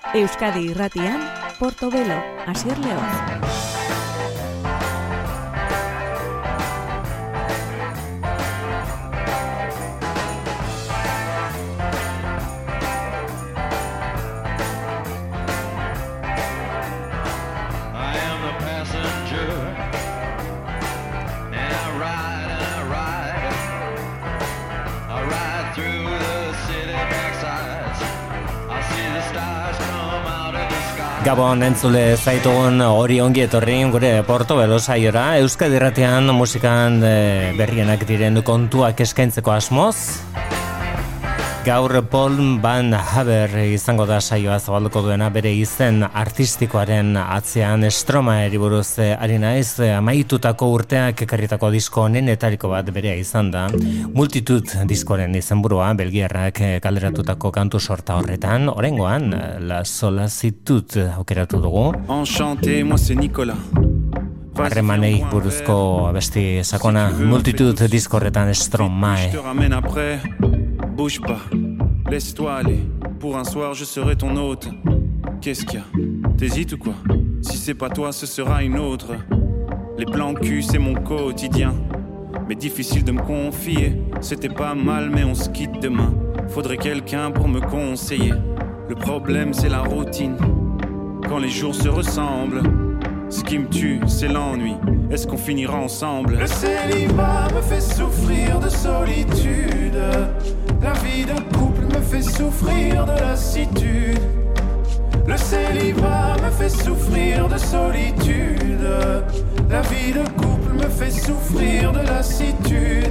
Euskadi Irratian, Portobelo, Asier León. Gabon entzule zaitugun hori ongi etorri gure Portobelo saiora, Euskadi Irratian musikan berrienak diren kontuak eskaintzeko asmoz. Gaur Paul Van Haver izango da saioa zabalduko duena, bere izen artistikoaren atzean Stromaeri buruz ari naiz. Amaitutako urteak ekarritako disko honenetariko bat berea izan da. Multitude diskoaren izenburua, belgiarrak kalderatutako kantu sorta horretan, oraingoan La Solitude aukeratu dugu. Enchanté, moi c'est Nicolas. Harremanei buruzko abesti sakona, Multitude disko horretan Stromae. Bouge pas, laisse-toi aller. Pour un soir, je serai ton hôte. Qu'est-ce qu'il y a? T'hésites ou quoi? Si c'est pas toi, ce sera une autre. Les plans cul, c'est mon quotidien. Mais difficile de me confier. C'était pas mal, mais on se quitte demain. Faudrait quelqu'un pour me conseiller. Le problème, c'est la routine. Quand les jours se ressemblent. Ce qui me tue, c'est l'ennui. Est-ce qu'on finira ensemble? Le célibat me fait souffrir de solitude. La vie de couple me fait souffrir de lassitude. Le célibat me fait souffrir de solitude. La vie de couple me fait souffrir de lassitude.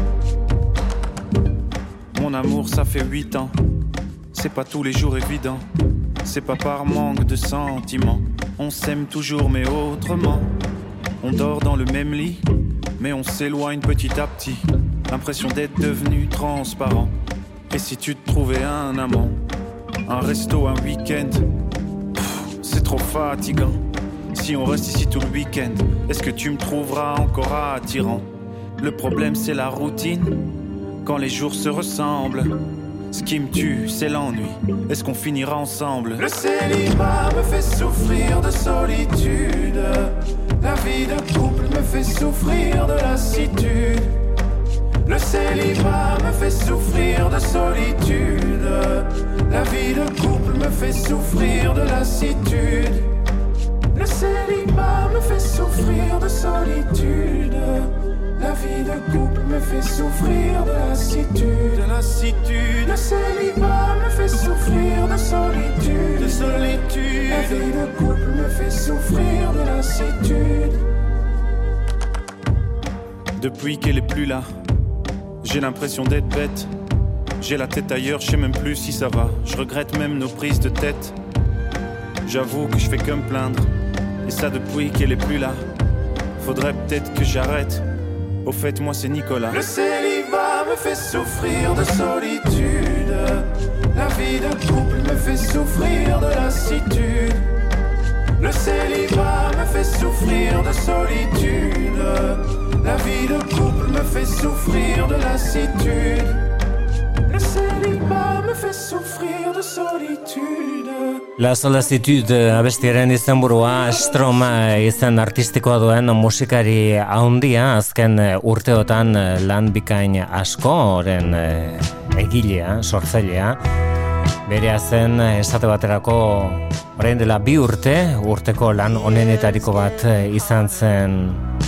Mon amour, ça fait 8 ans. C'est pas tous les jours évident. C'est pas par manque de sentiments. On s'aime toujours mais autrement. On dort dans le même lit, mais on s'éloigne petit à petit. L'impression d'être devenu transparent. Et si tu te trouvais un amant, un resto, un week-end, c'est trop fatigant. Si on reste ici tout le week-end, est-ce que tu me trouveras encore attirant? Le problème c'est la routine, quand les jours se ressemblent. Ce qui me tue, c'est l'ennui. Est-ce qu'on finira ensemble? Le célibat me fait souffrir de solitude. La vie de couple me fait souffrir de lassitude. Le célibat me fait souffrir de solitude. La vie de couple me fait souffrir de lassitude. Le célibat me fait souffrir de solitude. La vie de couple me fait souffrir de lassitude, de lassitude. Le célibat me fait souffrir de solitude, de solitude. La vie de couple me fait souffrir de lassitude. Depuis qu'elle est plus là, j'ai l'impression d'être bête. J'ai la tête ailleurs, je sais même plus si ça va. Je regrette même nos prises de tête. J'avoue que je fais que me plaindre. Et ça depuis qu'elle est plus là. Faudrait peut-être que j'arrête. Au fait, moi c'est Nicolas. Le célibat me fait souffrir de solitude. La vie de couple me fait souffrir de lassitude. Le célibat me fait souffrir de solitude. La vie de couple me fait souffrir de lassitude. Le célibat me fait souffrir de solitude. La Solitude abestiaren izenburua Stroma izen artistikoa duen musikari handia, azken urteotan lan bikain asko, oren egilea, sortzailea. Berea zen esate baterako orain dela 2 urteko lan onenetariko bat izan zen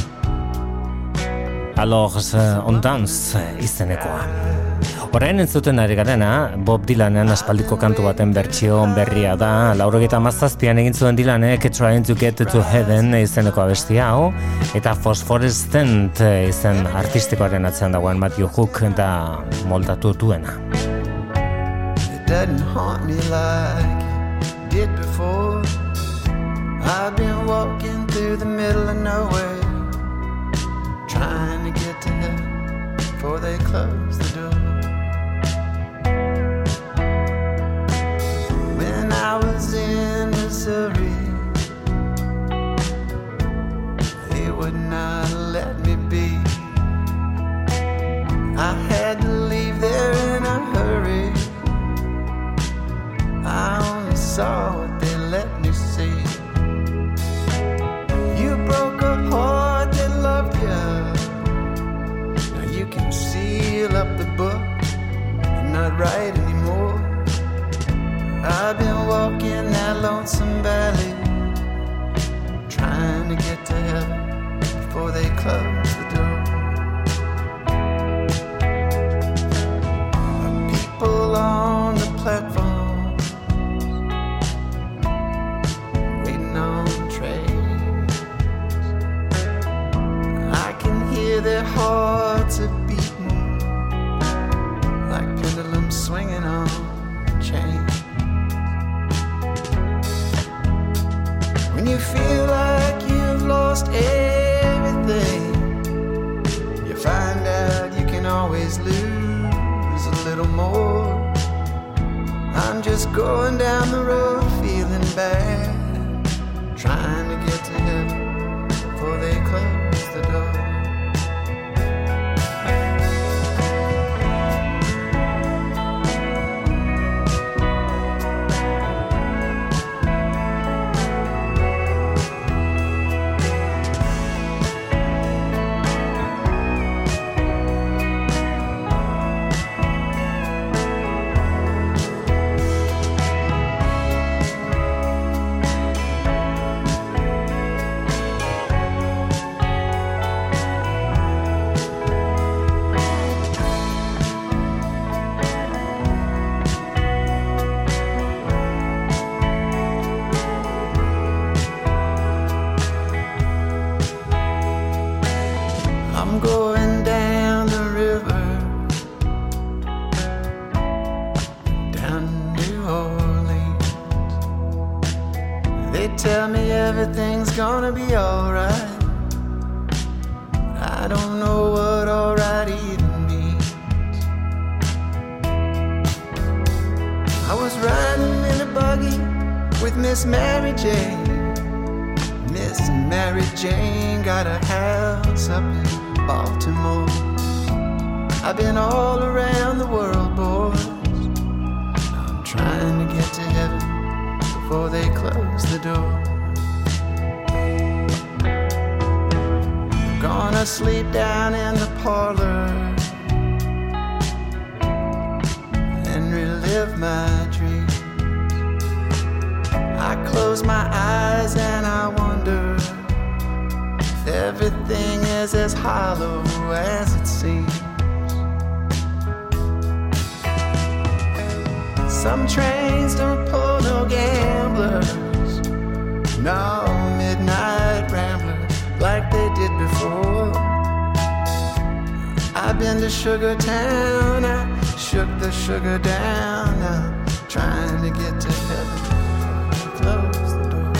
Alors on danse izenekoa. Orain entzuten ari garena, Bob Dylanen aspaldiko kantu baten bertsio berria da. 97an egin zuen Dylanek Trying to Get to Heaven izeneko abestia hau, eta Phosphorescent izen artistikoaren atzean dagoen Matthew Hook da moldatu duena. It doesn't haunt me like it did before. I've been walking through the middle of nowhere, trying to get to heaven before they close the door. When I was in Missouri, they would not let me be. I had to leave there in a hurry. I only saw right anymore. I've been walking that lonesome valley, trying to get to heaven before they close the door. People on the platform waiting on trains. I can hear their hearts are beating like pendulums swinging on chains. When you feel like you've lost everything, you find out you can always lose a little more. I'm just going down the road feeling bad, trying to get to heaven before they close the door. Everything's gonna be alright. I don't know what alright even means. I was riding in a buggy with Miss Mary Jane. Miss Mary Jane got a house up in Baltimore. I've been all around the world, boys. I'm trying to get to heaven before they close the door. Gonna sleep down in the parlor and relive my dreams. I close my eyes and I wonder if everything is as hollow as it seems. Some trains don't pull no gamblers, no midnight ramblers like they did before. I've been to Sugar Town, I shook the sugar down. I'm trying to get to heaven, close the door.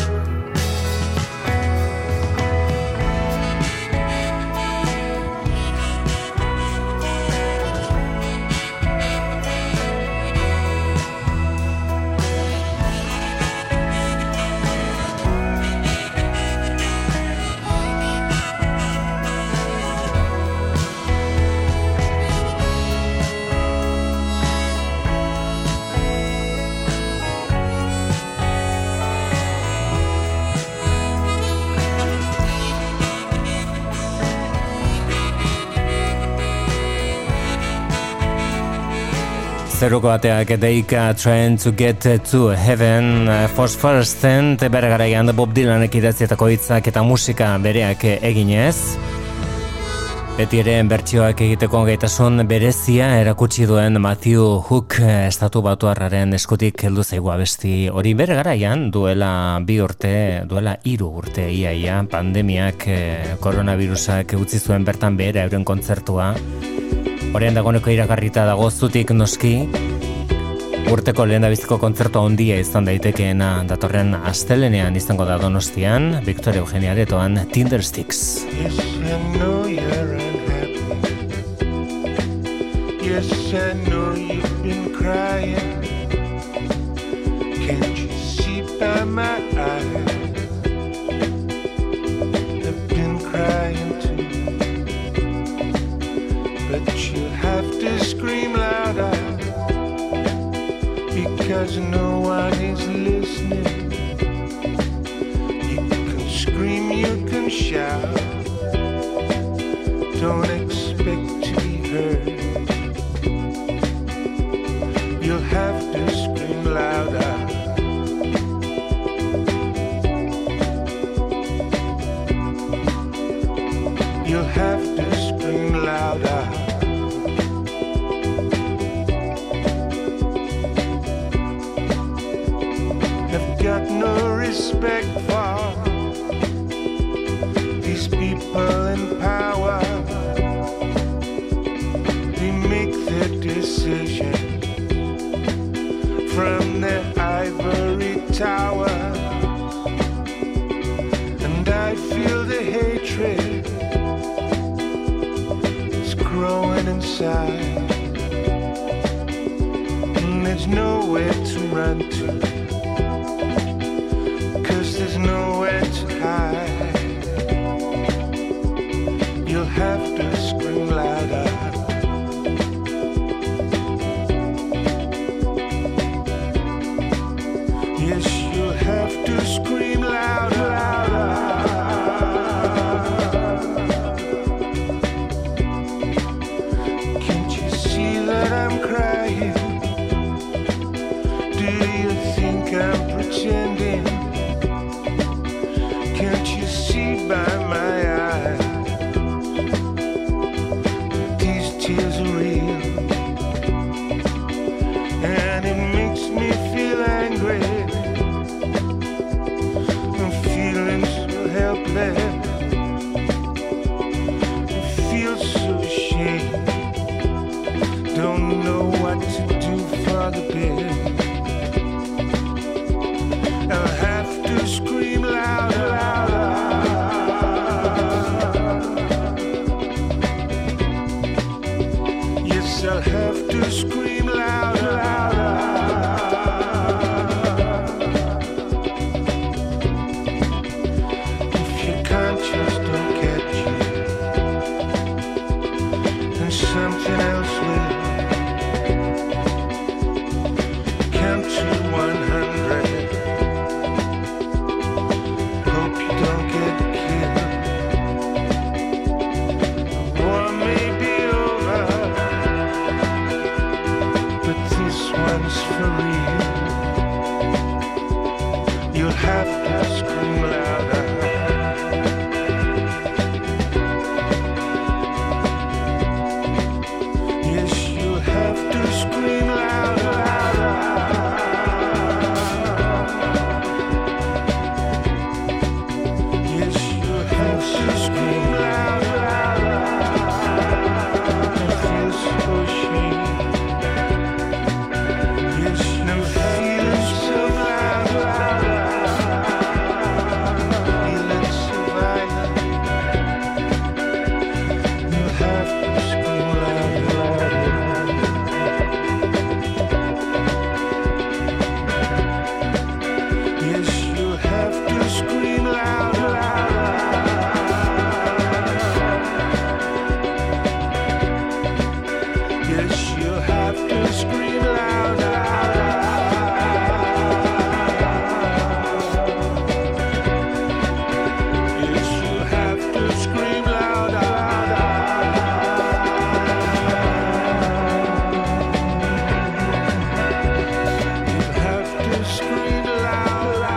Zeruko bateak deika Trying to Get to Heaven Fosforescent bere garaian Bob Dylanek idatzietako hitzak eta musika bereak eginez. Beti ere bertsioak egiteko gaitasun berezia erakutsi duen Matthew Hook estatu batuarraren eskutik heldu zaigu abesti hori bere garaian duela 3 urte iaia pandemiak koronavirusak utzi zuen bertan behera euren kontzertua. Horrean dagoeneko iragarrita dago zutik noski urteko lehendabiziko kontzertua handia izan daitekeena datorren astelenean izango da Donostian, Victor Eugenia Aretoan Tindersticks. Yes, I know you're unhappy. Yes, I know you've been crying. Can't you see by my eyes? I've been crying too. But you have to scream louder, because no one is listening. You can scream, you can shout, don't expect to be heard. You'll have to scream louder. You'll have to scream louder. I've got no respect for these people in power. They make their decisions from their ivory tower, and I feel the hatred is growing inside, and there's nowhere to run to, 'cause there's nowhere to hide. You'll have to scream louder. Yes, you'll have to scream louder. Can't you see that I'm crying? Do you think I'm pretending? Can't you see by my eyes these tears are real? And it makes me feel angry. I'm feeling so helpless. I feel so ashamed. Don't know what to do for the best. I'll have to scream louder. Yes, I'll have to scream louder. If your conscience don't get you, then something else will. Count to 100. Hope you don't get killed. The war may be over, but this one's for real. You'll have to scream louder. Yes, you'll have to scream louder. Yes, you'll have to scream louder. I feel so ashamed. Yes, you feel so louder. Feeling so violent. You'll have to scream louder. Yes, you'll have to scream louder. Yes, you'll have to scream louder. Yes, you'll have to scream louder. You'll have to scream louder.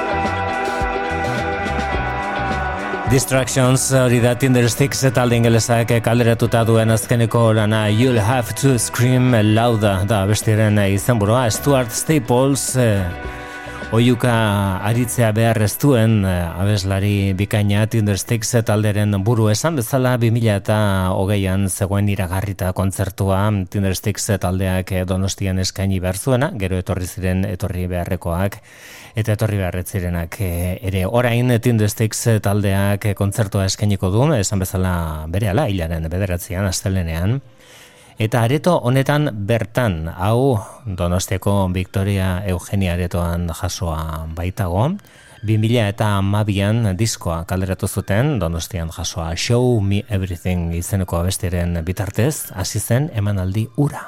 Distractions hori da Tindersticks talde ingelesak kalderatuta duen azkeneko lana You'll Have to Scream Louder da bestiaren izenburua. Stuart Staples oiuka aritzea behar ez duen abeslari bikaina Tindersticks talderen buru esan bezala 2020an zegoen iragarrita kontzertua Tindersticks taldeak Donostian eskaini behar zuena, gero etorri beharrekoak eta etorri beharretzirenak ere. Orain Tindersticks taldeak kontzertua eskainiko du, esan bezala berehala hilaren 9an astelehenean. Eta areto honetan bertan, hau Donostiako Victoria Eugenia aretoan jasoa baitago, 2012an diskoa kalderatu zuten Donostian jasoa Show Me Everything izeneko abestiaren bitartez, hasi zen emanaldi hura.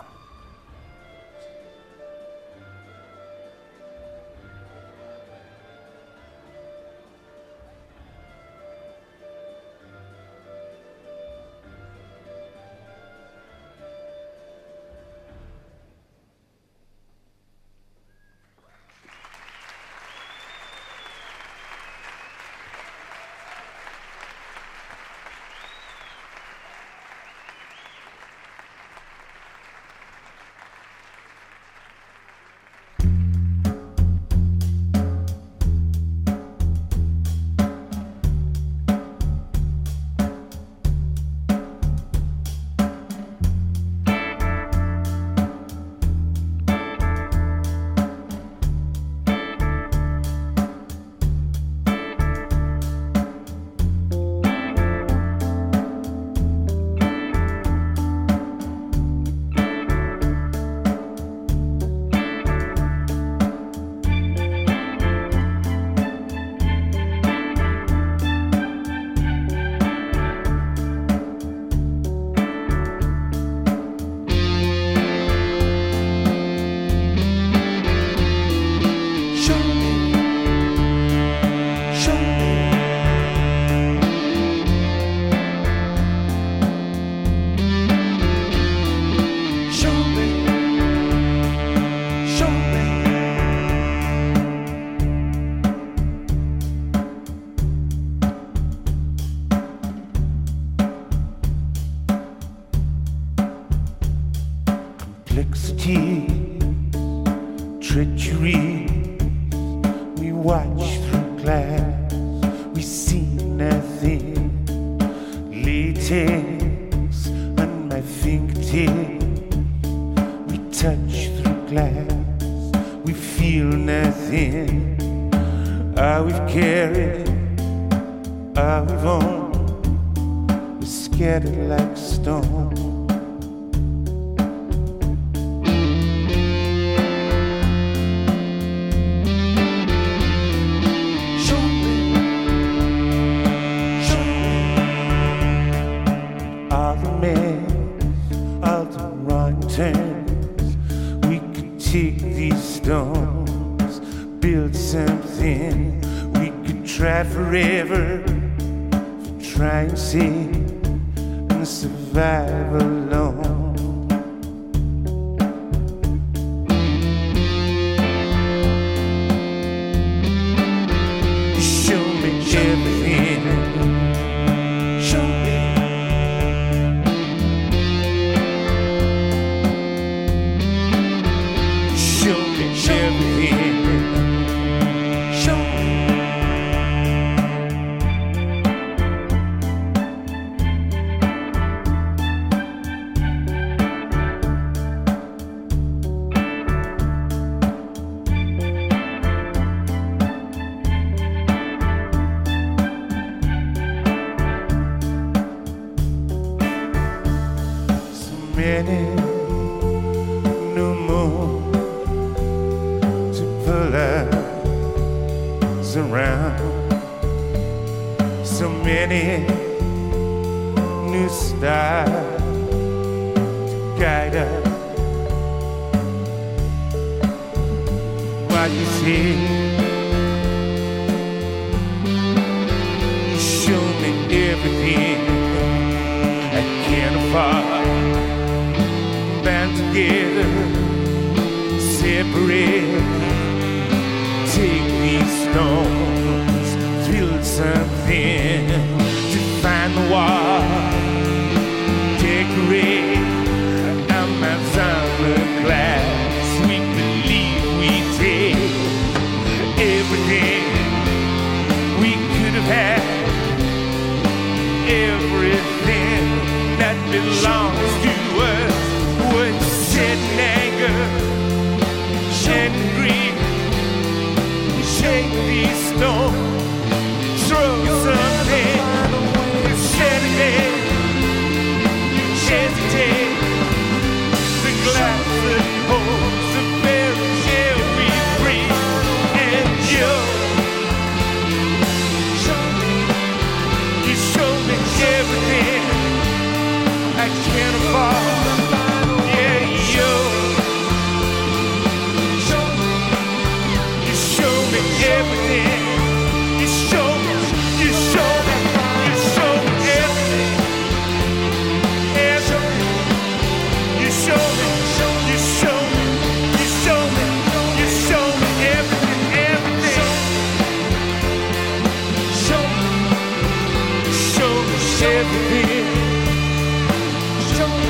tears, treachery. We watch through glass, we see nothing. Latex on my fingertips, we touch through glass, we feel nothing. All we've carried, all we've owned, we're scattered like stone. All the men, all the wrong turns, we could take these stones, build something. We could try forever, try and save and survive alone. Show me everything. Show me. Show me everything. Show me. So many, no more to pull us around. So many new stars to guide us. What you see, show me everything I can't afford. Band together, separate. Take these stones, build something to find the wall. Decorate Amazon glass. We believe we take everything we could have had, everything that belongs to us. Would sit in anger, shed in grief. Shake these stones, throw something, hesitate, hesitate. The glass that holds the very air we breathe, and you show me everything I can't afford. Everything you show me, you show me, you show me everything. Everything you show me, you show me, you show me, you show me everything, everything. Show me everything. Show me.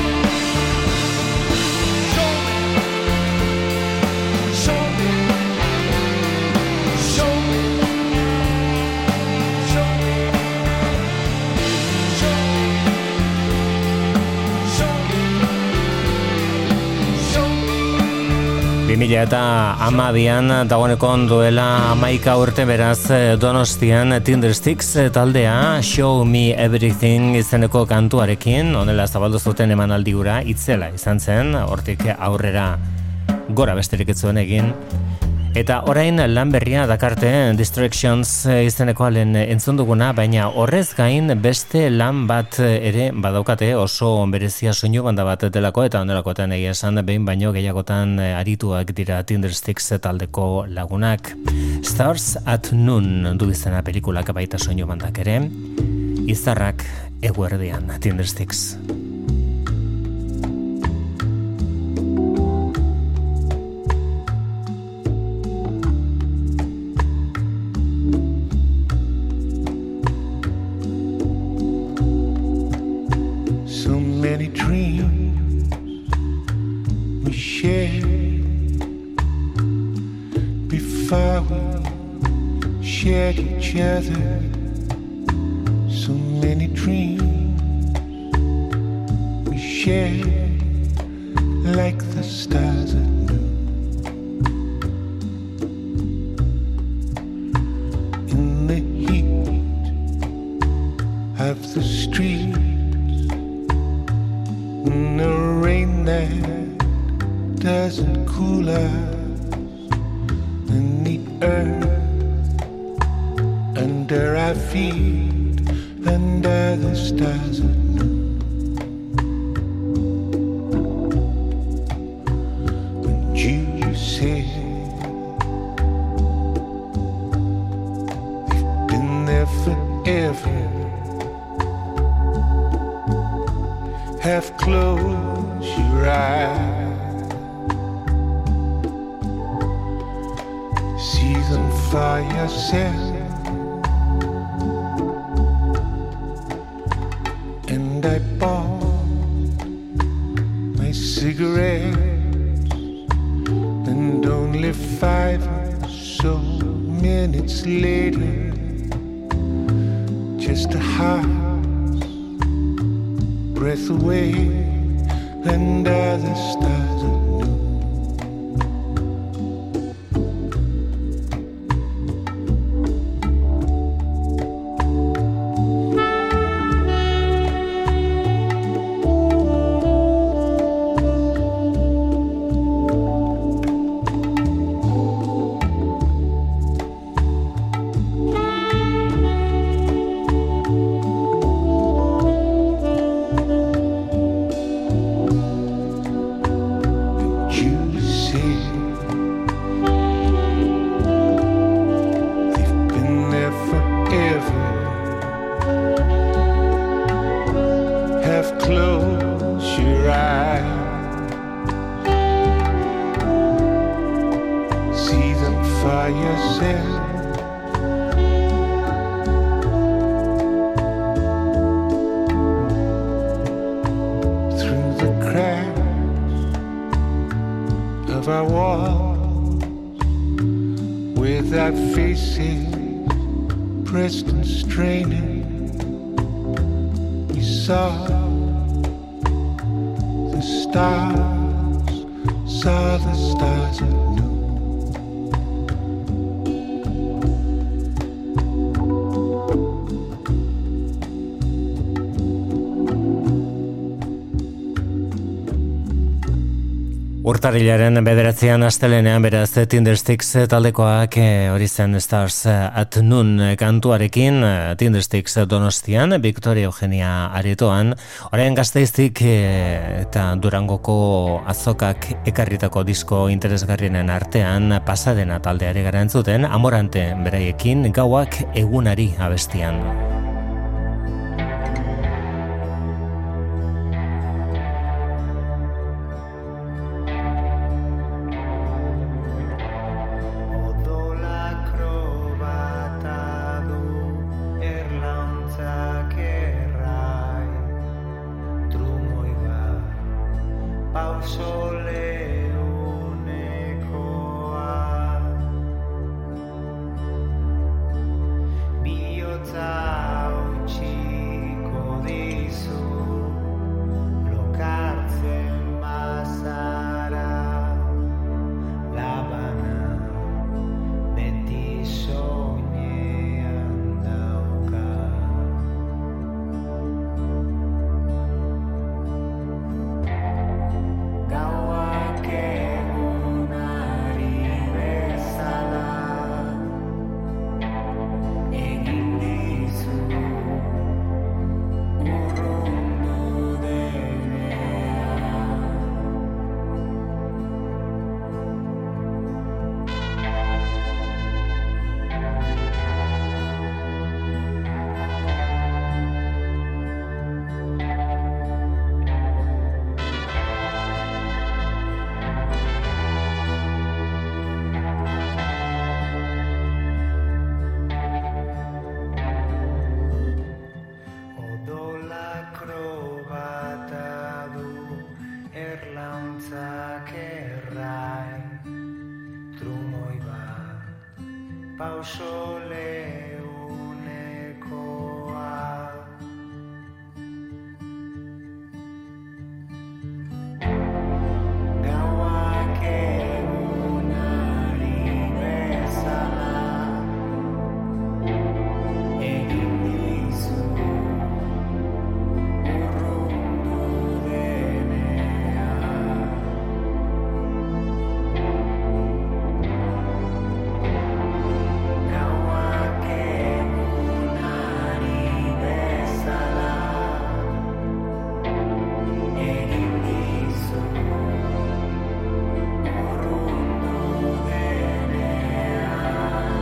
Mila eta amabian dagoeneko duela 11 urte beraz Donostian Tindersticks taldea Show Me Everything izeneko kantuarekin honela zabaldu zuten emanaldi hura itzela izan zen, hortik aurrera gora besterik ez zuen egin. Eta orain lan berria dakarte Distractions izeneko alen entzun duguna, baina horrez gain beste lan bat ere badaukate oso berezia soinu banda bat delako eta ondelakoetan egia esan behin baino gehiagotan arituak dira Tindersticks taldeko lagunak. Stars at Noon du izena pelikulak baita soinu bandak ere, izarrak eguerdian Tindersticks. Many dreams we share shared before we shared each other. So many dreams we shared like the stars at noon. In the heat of the streets, in the rain that doesn't cool us, in the earth under our feet, under the stars at noon. And you said we've been there forever. Half close your eyes, see them for yourself. And I bought my cigarettes, and only 5 or so minutes later, just a heart's breath away under the stars at noon. Urtarrilaren 9 astelenean beraz Tindersticks taldekoak hori zen Stars at Noon kantuarekin Tindersticks Donostian, Victoria Eugenia aretoan, orain Gasteiztik eta Durangoko azokak ekarritako disko interesgarrienen artean pasadena taldeari gara entzuten, Amorante beraiekin Gauak egunari abestian. Biotza pauso leunekoa. Gauak egunari bezala egin dizu urrundu denean. Gauak egunari bezala egin dizu urrundu denean.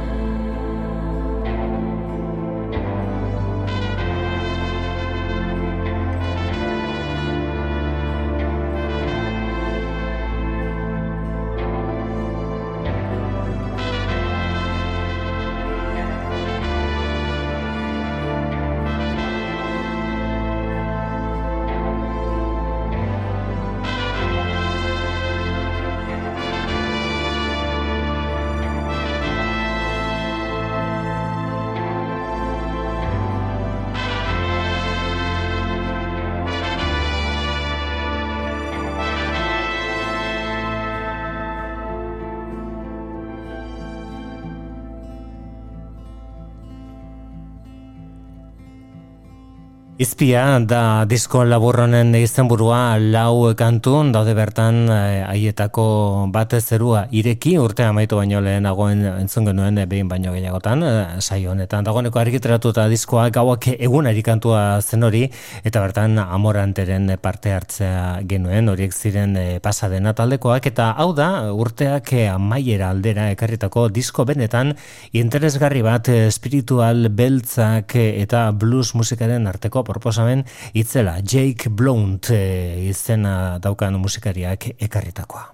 Izpia da disko laburronen izenburua, lau kantun daude bertan haietako bat zerua ireki urtea amaitu baino lehenagoen entzun genuen behin baino gehiagotan saio honetan. Dagoeneko argitaratuta diskoa Gauak egunari kantua zen hori eta bertan Amoranteren parte hartzea genuen, horiek ziren pasadena taldekoak eta hau da urteak amaiera aldera ekarritako disko benetan interesgarri bat, espiritual beltzak eta blues musikaren arteko proposamen itzela, Jake Blount izena daukan musikariak ekarritakoa.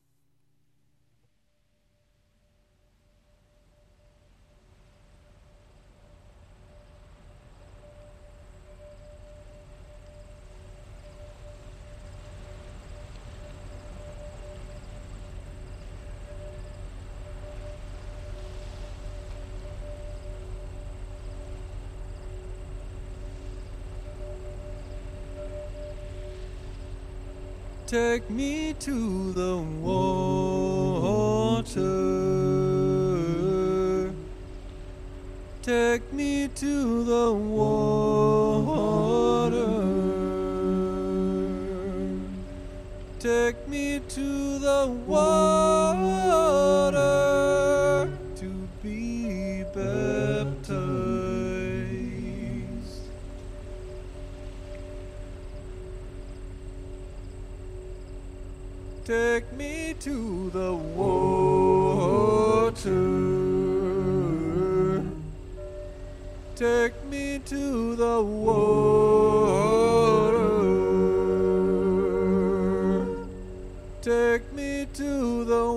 Take me to the water. Take me to the water. Take me to the water to be baptized. Take me to the water. Take me to the water. Take me to the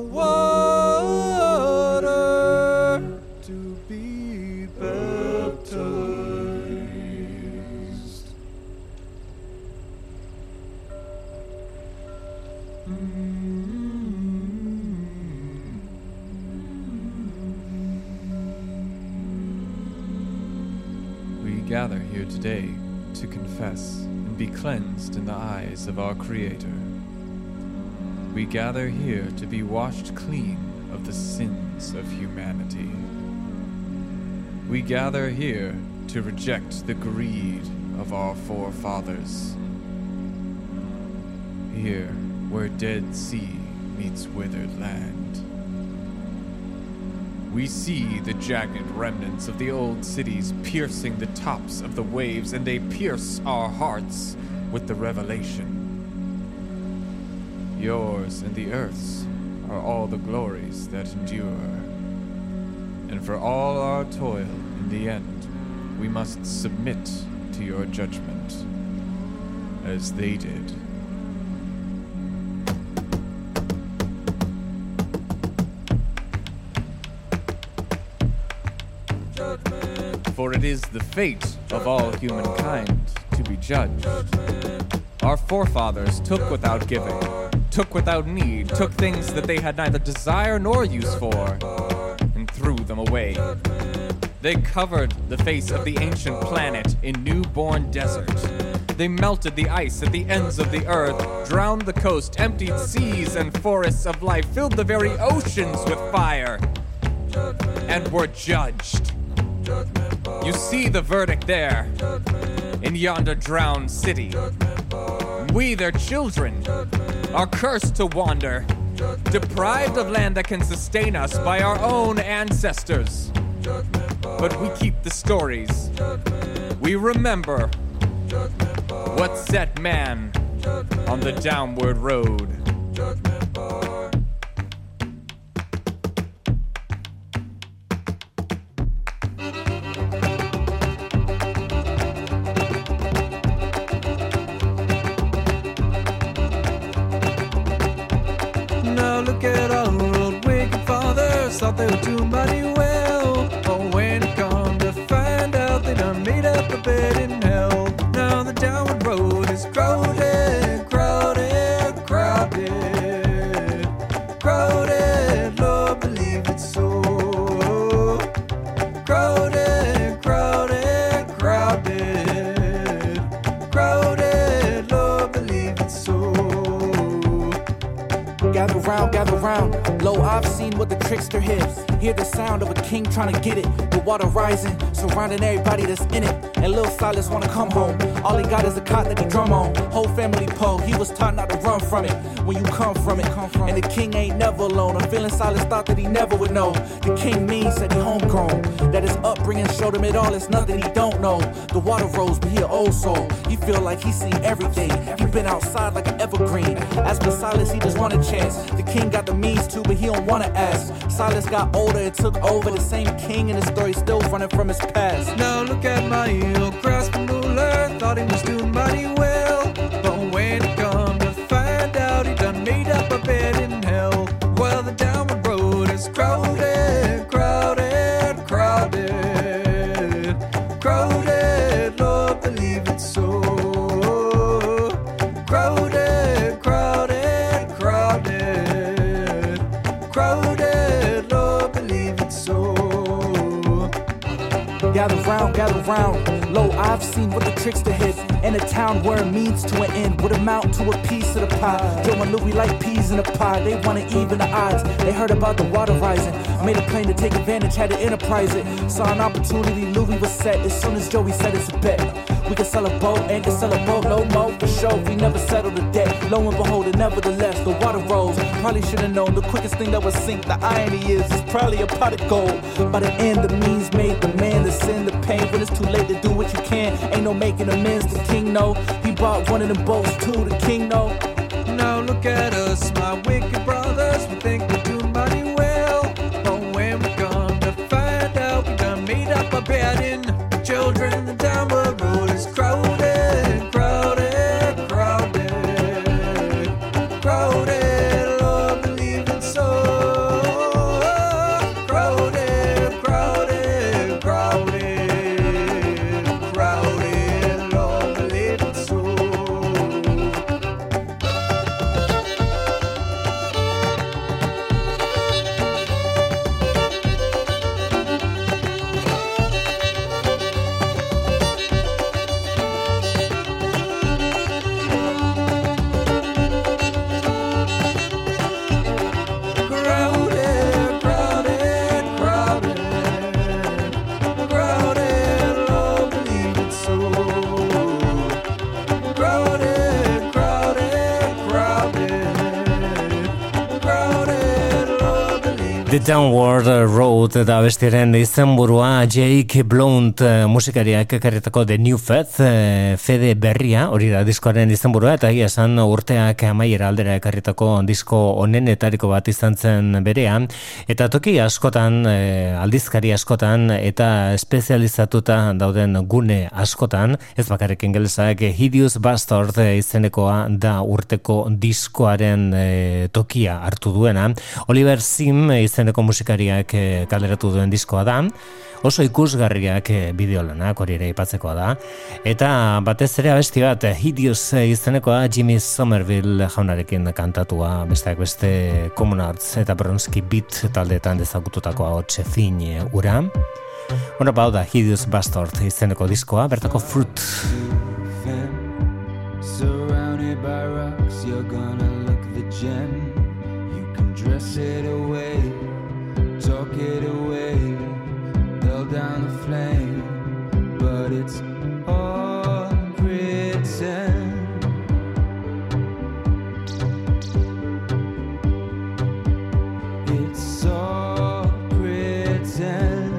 water to be baptized. We gather here today to confess and be cleansed in the eyes of our Creator. We gather here to be washed clean of the sins of humanity. We gather here to reject the greed of our forefathers. Here, where Dead Sea meets withered land. We see the jagged remnants of the old cities piercing the tops of the waves, and they pierce our hearts with the revelation. Yours and the earth's are all the glories that endure. And for all our toil, in the end, we must submit to your judgment, as they did. For it is the fate of all humankind to be judged. Our forefathers took without giving, took without need, took things that they had neither desire nor use for, and threw them away. They covered the face of the ancient planet in newborn desert. They melted the ice at the ends of the earth, drowned the coast, emptied seas and forests of life, filled the very oceans with fire, and were judged. You see the verdict there, in yonder drowned city. We, their children, are cursed to wander, deprived of land that can sustain us by our own ancestors. But we keep the stories. We remember what set man on the downward road. Now look at our old wicked fathers, thought they would do mighty well. But when it come to find out, they done made up a bed in hell. Now the downward road is crowded, crowded, crowded, crowded, Lord, believe it's so. Crowded, crowded, crowded, crowded, Lord, believe it's so. Gather round, lo, I've seen what the trickster hits. Hear the sound of a king trying to get it. The water rising, surrounding everybody that's in it. And Lil Silas wanna come home. All he got is a cot that he drum on. Whole family po, he was taught not to run from it. When you come from it, and the king ain't never alone. I'm feeling Silas thought that he never would know. The king means said he homegrown. That his upbringing showed him it all, it's nothing he don't know. The water rose, but he an old soul. He feel like he seen everything. He been outside like an evergreen. As for Silas, he just want a chance. The king got the means to, but he don't wanna ask. Silas got older and took over. The same king in the story still running from his past. Now look at my old grasping ruler, thought he was doing mighty well. But when it come to find out, he done made up a bed in hell. Well, the downward road is crowded, crowded, crowded, crowded, Lord, believe it's so. Crowded, crowded, crowded, crowded, Lord, believe it's so. Gather round, lo, I've seen what the trickster hit. In a town where a means to an end would amount to a piece of the pie. Joe and Louie like peas in a pie, they wanna even the odds. They heard about the water rising, made a plan to take advantage, had to enterprise it. Saw an opportunity, Louie was set as soon as Joey said it's a bet. We can sell a boat and can sell a boat, no more for sure. We never settled the debt. Lo and behold, and nevertheless, the water rose. Probably should have known the quickest thing that would sink. The irony is, it's probably a pot of gold. By the end, the means made the man, the sin, the pain. When it's too late to do what you can, ain't no making amends. The king know he bought one of them boats too. The king know. Now look at us, my wicked brothers. We think we're doing mighty well. But when we come to find out, we done made up a bed in children. The downward road is crowded, crowded, crowded, crowded, Lord, believe it's so. Crowded, crowded, crowded, crowded, Lord, believe it's so. The Downward Road da bestiaren izenburua Jake Blount musikariak ekarritako The New Faith Fede berria, hori da diskoaren izenburua, eta egia esan urteak amaiera aldera ekarritako disko onenetariko bat izan zen berean, eta toki askotan, aldizkari askotan eta espezializatuta dauden gune askotan, ez bakarrik ingelesak, Hideous Bastard izenekoa da urteko diskoaren tokia hartu duena. Oliver Sim izen izeneko musikariak kaleratu duen diskoa da, oso ikusgarriak bideolanak, hori ere aipatzekoa da, eta batez ere abesti bat, Hideous izenekoa Jimmy Somerville jaunarekin kantatua, besteak beste Common Arts eta Bronski Beat taldeetan dezagututakoa hotxe fin ura. Hora bau da Hideous Bastard izeneko diskoa, bertako Fruit. Surrounded by rocks, you're gonna look the gem. You can dress it away, talk it away, build down the flame, but it's all pretend. It's all pretend.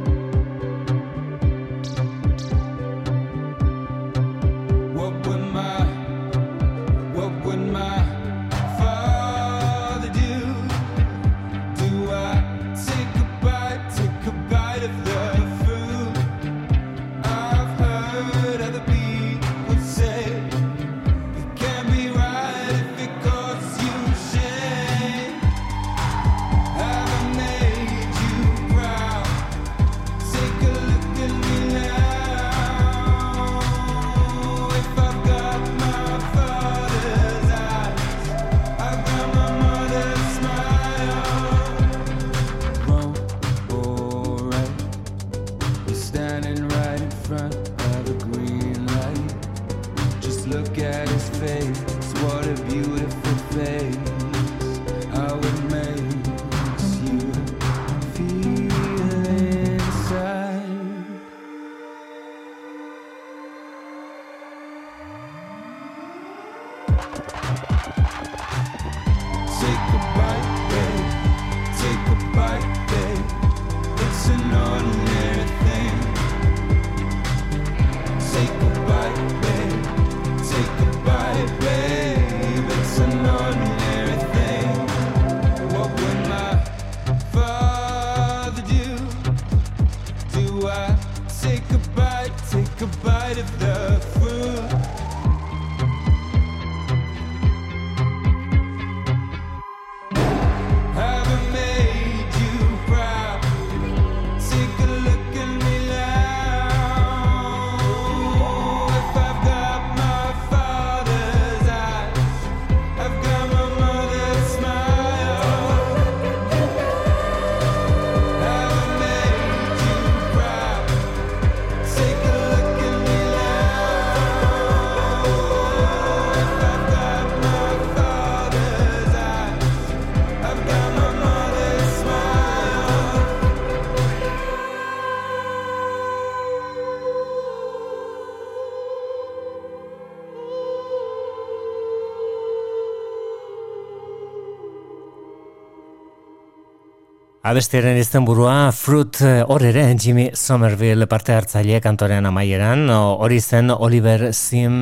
Abestiaren izenburua Fruit, hor ere Jimmy Somerville parte hartzaile kantorean amaieran, hori zen Oliver Sim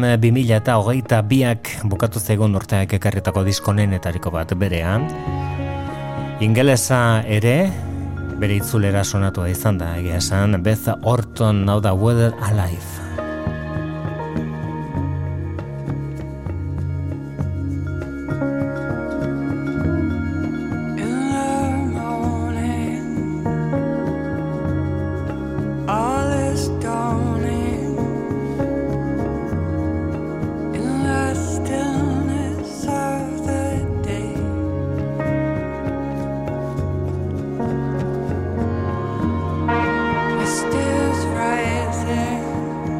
2022ak bukatu zaigun urteak ekarritako diskonenetariko bat berean. Ingelesa ere, bere itzulera sonatua izan da, egia esan, Beth Orton, Now the Weather Alive. Rising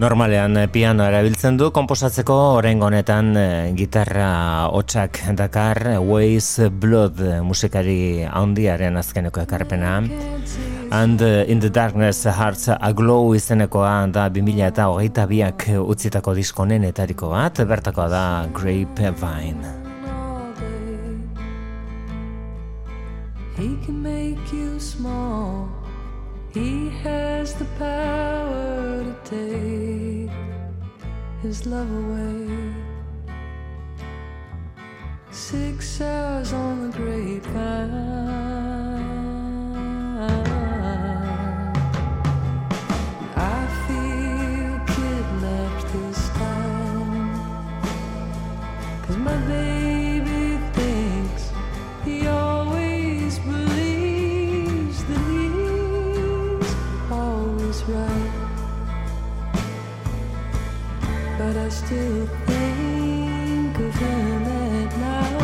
Normalean piano erabiltzen du konposatzeko, oraingo honetan gitarra hotsak dakar Ways Blood musikari handiaren azkeneko ekarpena. And in the Darkness Hearts Aglow izenekoa da 2022ak utzitako diskonenetariko bat, bertakoa da Grapevine. He can make you small. He has the power to take his love away. 6 hours on the grapevine. I feel kidnapped this time, 'cause my baby thinks he always believes that he's always right, but I still think of him at night.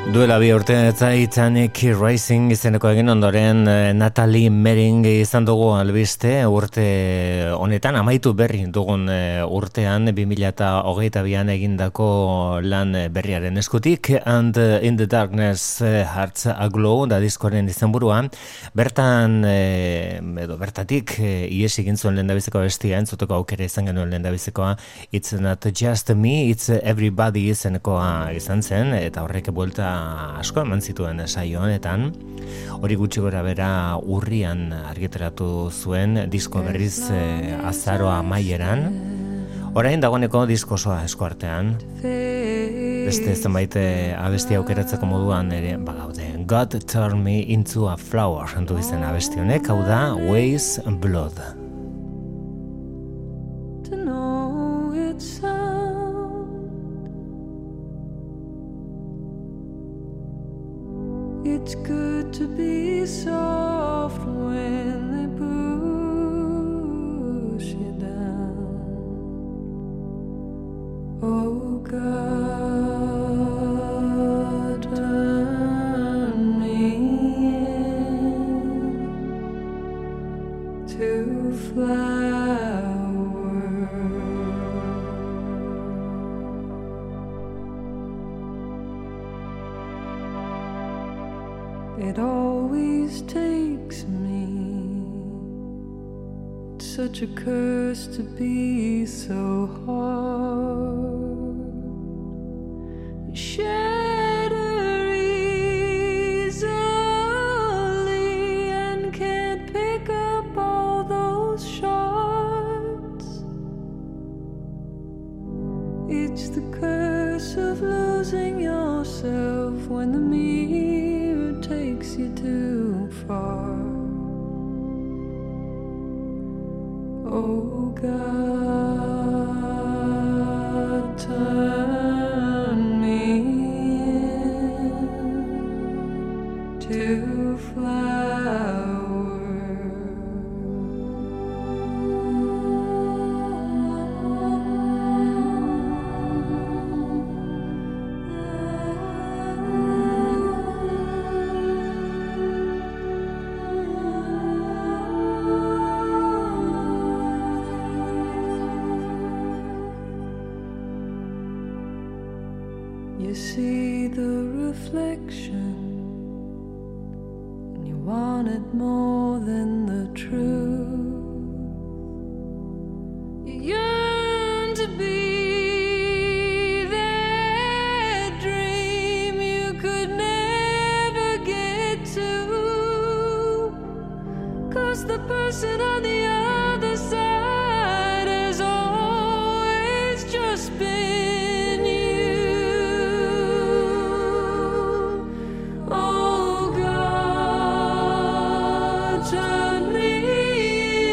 Duela bi urte Titanic Rising izeneko egin ondoren Natalie Mering izan dugu albiste urte honetan amaitu berri dugun urtean 2022an egindako lan berriaren eskutik And in the Darkness Hearts Aglow da diskoren izenburua bertan edo bertatik ies egin zuen lehendabiziko bestia entzuteko aukera izan genuen lehendabizikoa It's Not Just Me, It's Everybody izenekoa izan zen eta horrek buelta asko eman zituen saio honetan hori gutxi gora bera urrian argitaratu zuen disko berriz azaroa amaieran orain dagoeneko disko osoa eskuartean beste zenbait abesti aukeratzeko moduan ere bagaude God Turn Me Into a Flower du izen abesti honek hau da Ways and Blood To know it's It's good to be soft when they push you down. Oh God, turn me into flower. It always takes me. It's such a curse to be so hard. Shatter easily and can't pick up all those shards. It's the curse of losing yourself when the mirror takes you too far. Oh God, turn me into flower. You see the reflection and you want it more than the truth. You yearn to be that dream you could never get to, 'cause the person on the other side has always just been you. Oh God, turn me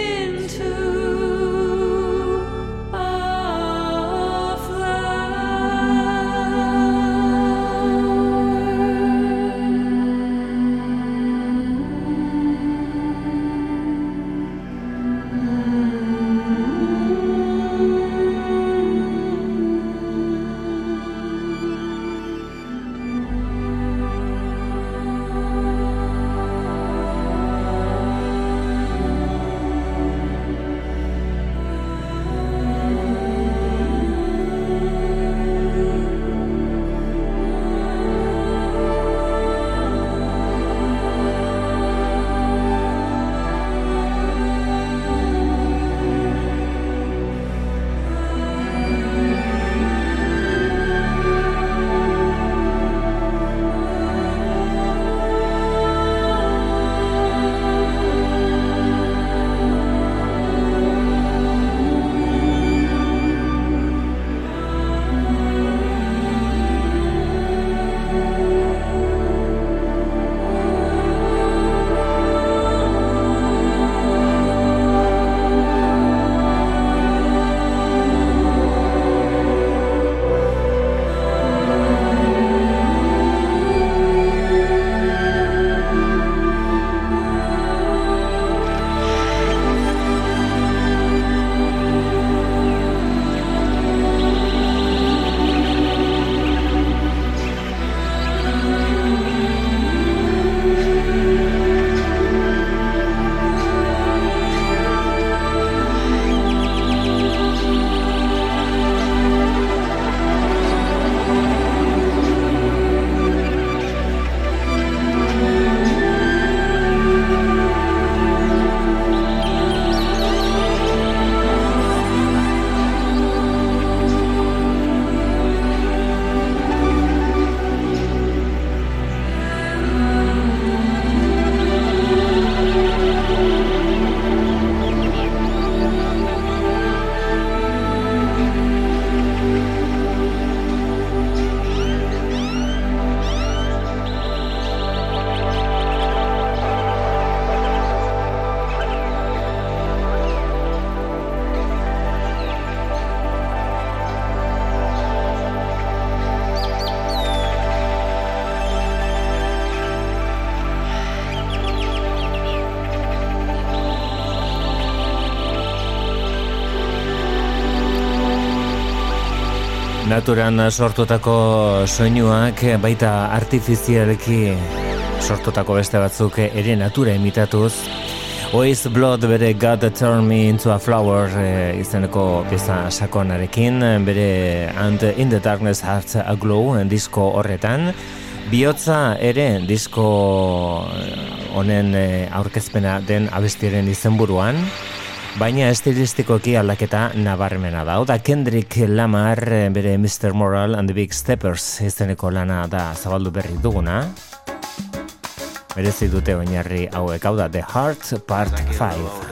Naturan sortutako soinuak baita artifizialki sortutako beste batzuk ere natura imitatuz. Oasis Blood bere God Turn Me Into a Flower izeneko pieza sakonarekin, bere And in the Darkness Hearts Aglow disko horretan. Bihotza ere disko honen aurkezpena den abestiaren izenburuan, baina estilistikoki aldaketa nabarmena da. Oda Kendrick Lamar bere Mr. Moral and the Big Steppers izeneko lana da zabaldu berri duguna. Merezi dute oinarri hauek, hau da The Heart Part 5.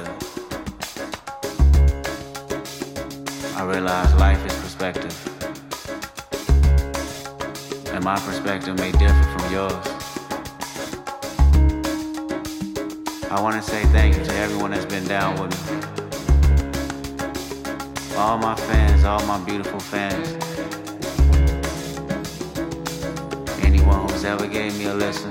I realize life is perspective, and my perspective may differ from yours. I want to say thank you to everyone that's been down with me. All my fans, all my beautiful fans. Anyone who's ever gave me a listen.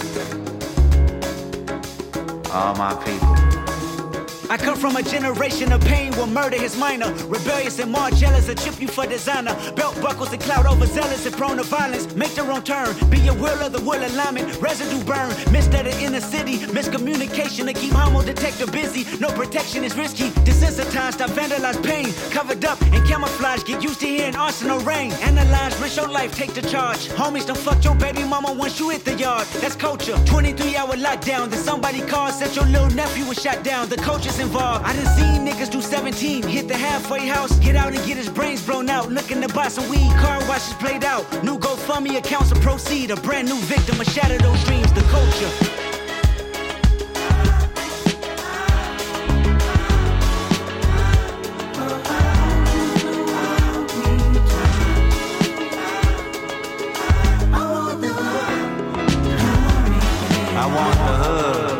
All my people. I come from a generation of pain where murder is minor. Rebellious and more jealous, a chip you for designer. Belt buckles and clout overzealous and prone to violence. Make their own turn, be your will of the will alignment. Residue burn, missed at the inner city. Miscommunication to keep homo detector busy. No protection is risky. Desensitized, I vandalize pain. Covered up and camouflage, get used to hearing arsenal rain. Analyze, risk your life, take the charge. Homies don't fuck your baby mama once you hit the yard. That's culture, 23-hour lockdown. Then somebody called, said your little nephew was shot down. The culture's involved. I done seen niggas do 17, hit the halfway house, get out and get his brains blown out. Looking to buy some weed, car washes played out. New GoFundMe accounts to proceed. A brand new victim of shatter those dreams. The culture. I want the hood.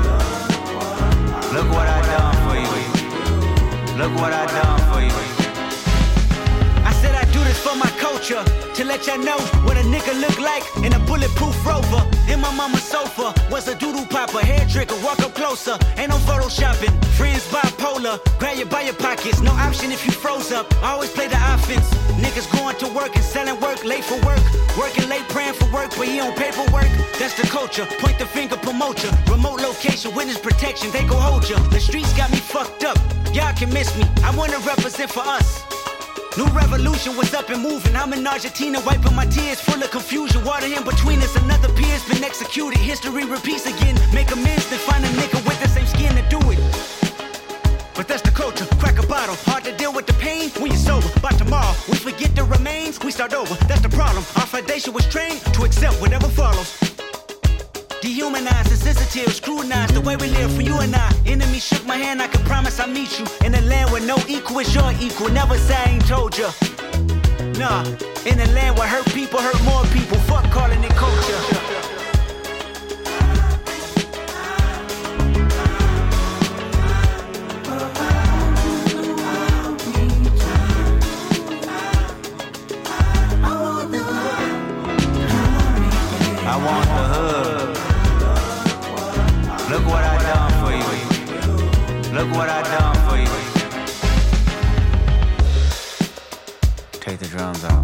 Look what I done for you. Look what I done for you. I said I do this for my culture, to let y'all know what a nigga look like in a bulletproof Rover. In my mama's sofa was a doodle popper, hair trigger, walk up closer. Ain't no photoshopping, friends bipolar. Grab you by your pockets, no option if you froze up. I always play the offense. Niggas going to work and selling work, late for work. Working late, praying for work, but he on paperwork. That's the culture, point the finger, promote ya. Remote location, witness protection, they go hold ya. The streets got me fucked up, y'all can miss me. I wanna represent for us. New revolution was up and moving. I'm in Argentina wiping my tears, full of confusion. Water in between us, another peer's been executed. History repeats again. Make amends, then find a nigga with the same skin to do it. But that's the culture, crack a bottle. Hard to deal with the pain when you're sober. By tomorrow, we forget the remains, we start over. That's the problem. Our foundation was trained to accept whatever follows. Dehumanized, insensitive, scrutinized the way we live for you and I. Enemy shook my hand, I can promise I'll meet you in a land where no equal is your equal. Never say I ain't told ya. Nah, in a land where hurt people hurt more people. Fuck calling it culture. I want the hood. Look what I done for you. Look what I done for you. Take the drums out.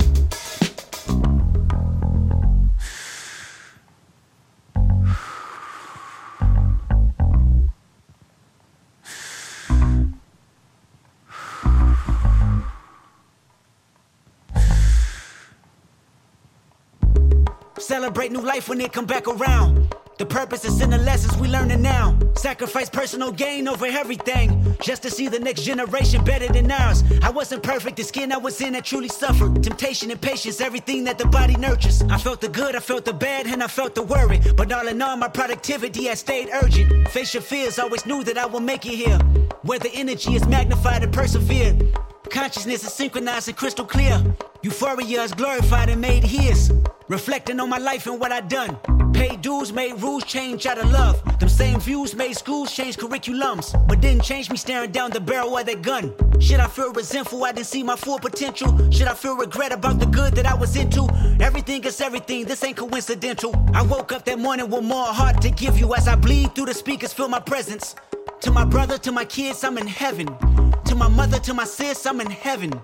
Celebrate new life when it come back around. The purpose is in the lessons we learning now. Sacrifice personal gain over everything, just to see the next generation better than ours. I wasn't perfect, the skin I was in that truly suffered. Temptation and patience, everything that the body nurtures. I felt the good, I felt the bad, and I felt the worry. But all in all, my productivity has stayed urgent. Face your fears, always knew that I would make it here. Where the energy is magnified and persevered. Consciousness is synchronized and crystal clear. Euphoria is glorified and made his. Reflecting on my life and what I done. Paid dues, made rules, change out of love. Them same views made schools change curriculums, but didn't change me staring down the barrel of that gun. Should I feel resentful I didn't see my full potential? Should I feel regret about the good that I was into? Everything is everything, this ain't coincidental. I woke up that morning with more heart to give you. As I bleed through the speakers, feel my presence. To my brother, to my kids, I'm in heaven. To my mother, to my sis, I'm in heaven.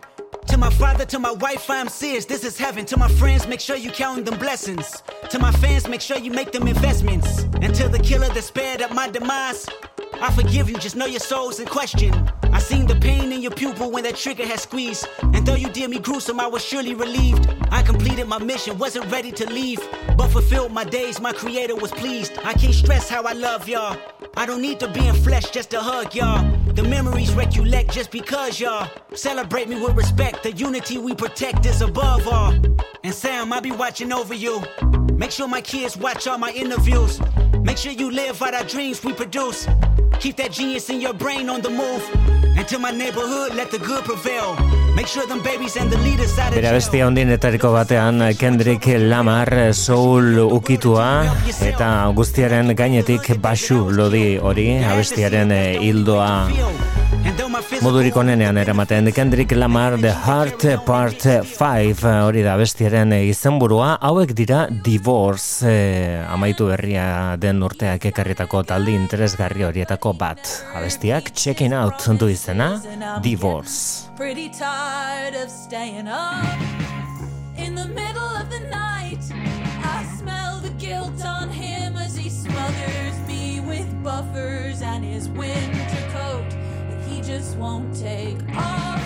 To my father, to my wife, I'm serious, this is heaven. To my friends, make sure you counting them blessings. To my fans, make sure you make them investments. And to the killer that spared up my demise, I forgive you, just know your soul's in question. I seen the pain in your pupil when that trigger had squeezed. And though you did me gruesome, I was surely relieved. I completed my mission, wasn't ready to leave, but fulfilled my days, my creator was pleased. I can't stress how I love y'all. I don't need to be in flesh just to hug y'all. The memories recollect just because y'all celebrate me with respect. The unity we protect is above all. And Sam, I'll be watching over you. Make sure my kids watch all my interviews. Make sure you live out our dreams we produce. Keep that genius in your brain on the move. And to my neighborhood, let the good prevail. Make sure them babies and the leaders out of jail. Bera bestia hondinetariko batean Kendrick Lamar soul ukitua eta guztiaren gainetik baxu lodi hori abestiaren hildoa modurik onenean eramaten. Kendrick Lamar The Heart Part 5 hori da abestiaren izenburua. Hauek dira Divorce amaitu berria den urteak ekarritako talde interesgarri horietako bat. Abestiak Checking Out du izena Divorce. Pretty tired of staying up in the middle of the night. I smell the guilt on him as he smothers me with buffers and his winter coat that he just won't take off.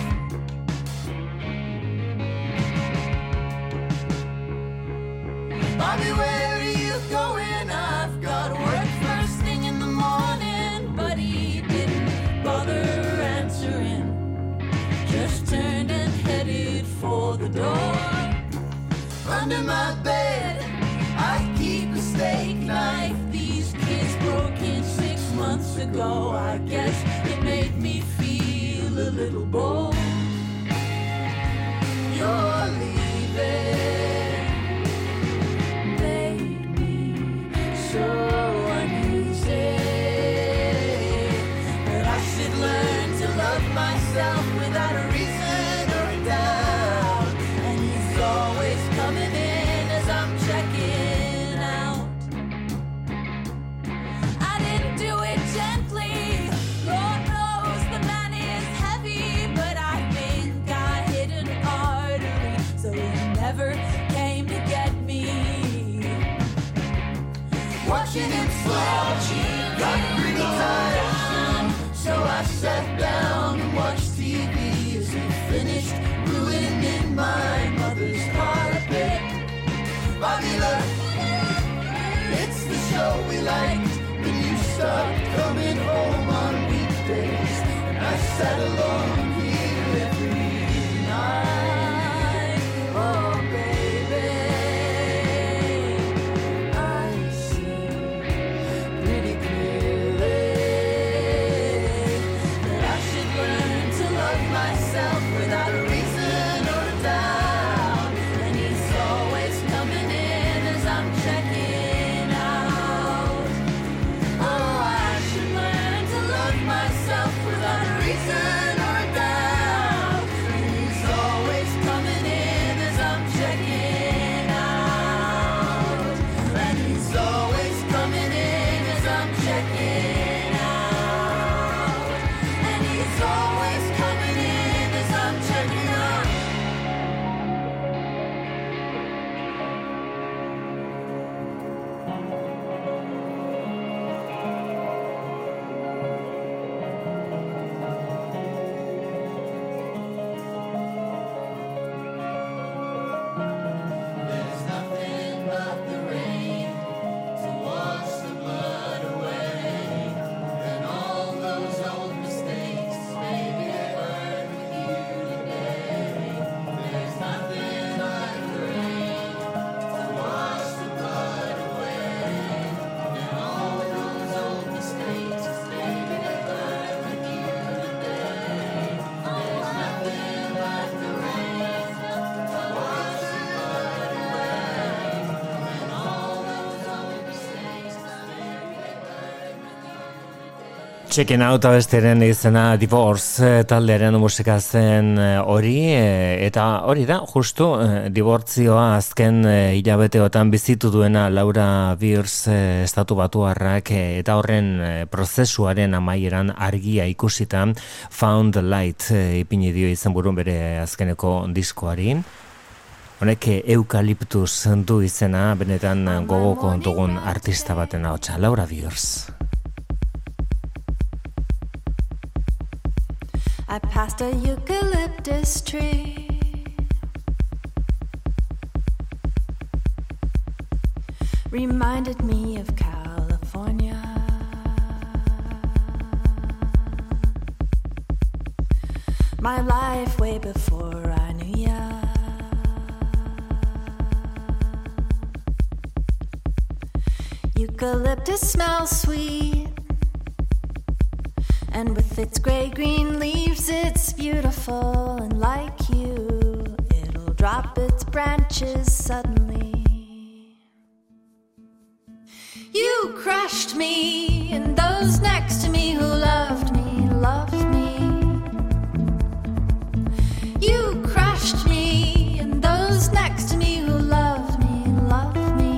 Bobby, where are you going? I've got work first thing in the morning, but he didn't bother answering. Just turned and headed for the door. Under my bed, I keep a steak knife. These kids broke in 6 months ago. I guess it made me feel a little bold. You're leaving, made me so uneasy. But I should learn to love myself without a reason or a doubt. And he's always coming in as I'm checking out. I didn't do it gently. Lord knows the man is heavy, but I think I hit an artery, so he never came to get me. Watching him slouch got pretty tired, so I sat down and watched TV as he finished ruining my mother's carpet. Bobby, look, it's the show we liked when you stopped coming home on weekdays, and I sat alone here every night. Oh, baby, I see pretty clearly that I should learn to love myself without a reason or a doubt. And he's always coming in as I'm checking out. Oh, I should learn to love myself without a reason Checking Out abestiaren izena Divorce taldearen musika zen hori, eta hori da, justu, dibortzioa azken hilabeteotan bizitu duena Laura Beers estatu batuarrak, eta horren prozesuaren amaieran argia ikusita Found the Light ipini dio izenburun bere azkeneko diskoari. Honek eukaliptus du izena, benetan gogoko dugun artista baten ahotsa, Laura Beers. I passed a eucalyptus tree. Reminded me of California. My life way before I knew ya. Eucalyptus smells sweet. And with its gray-green leaves, it's beautiful. And like you, it'll drop its branches suddenly. You crushed me, and those next to me who loved me, loved me. You crushed me, and those next to me who loved me, loved me.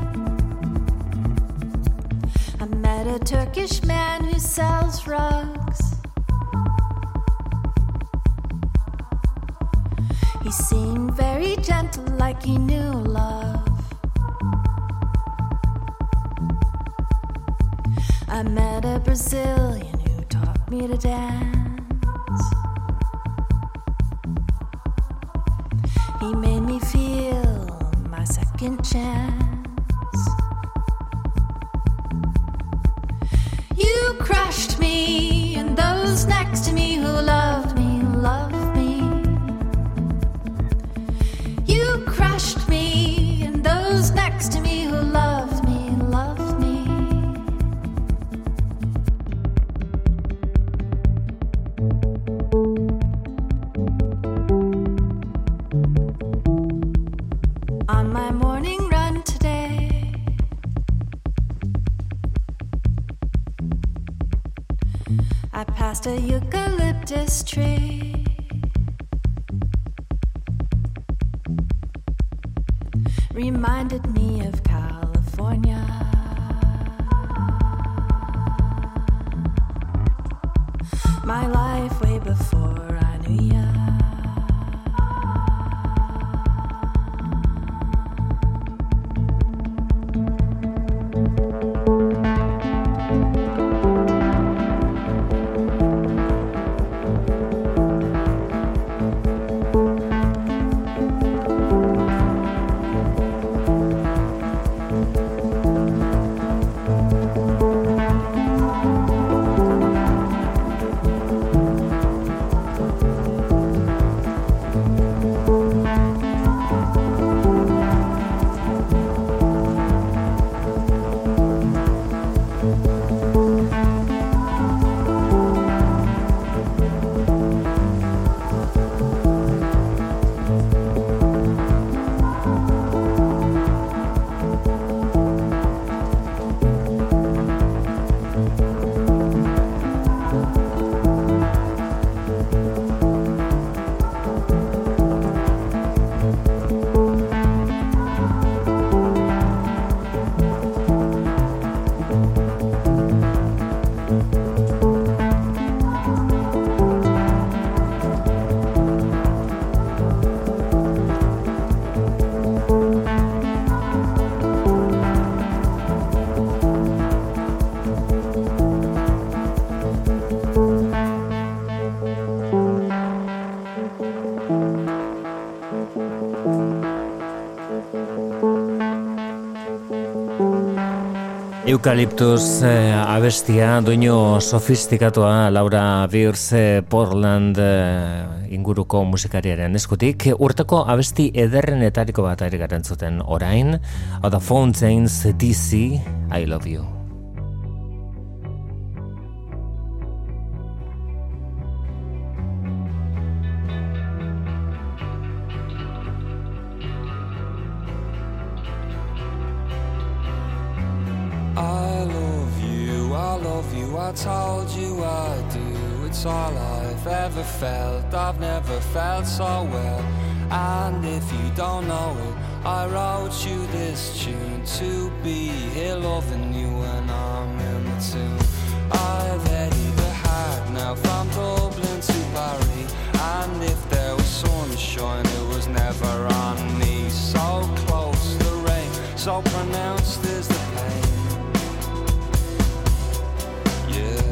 I met a Turkish man who sells rugs. He seemed very gentle, like he knew love. I met a Brazilian who taught me to dance. He made me feel my second chance. You crushed me, and those next to me who loved me, loved me. You crushed me, and those next to me who loved me, loved me. On my morning run today, I passed a eucalyptus tree. Reminded me of California. My life way before I knew ya. Eukaliptus abestia, doinu sofistikatoa Laura Beers Portland inguruko musikariaren eskutik. Urteko abesti ederrenetariko bat ari garen zuten orain, hau da Fountains DC, I Love You. I told you I do. It's all I've ever felt. I've never felt so well. And if you don't know it, I wrote you this tune to be here loving you when I'm in the tune. I've headed the hard now from Dublin to Paris, and if there was sunshine it was never on me. So close the rain, so pronounced is the pain. Yeah.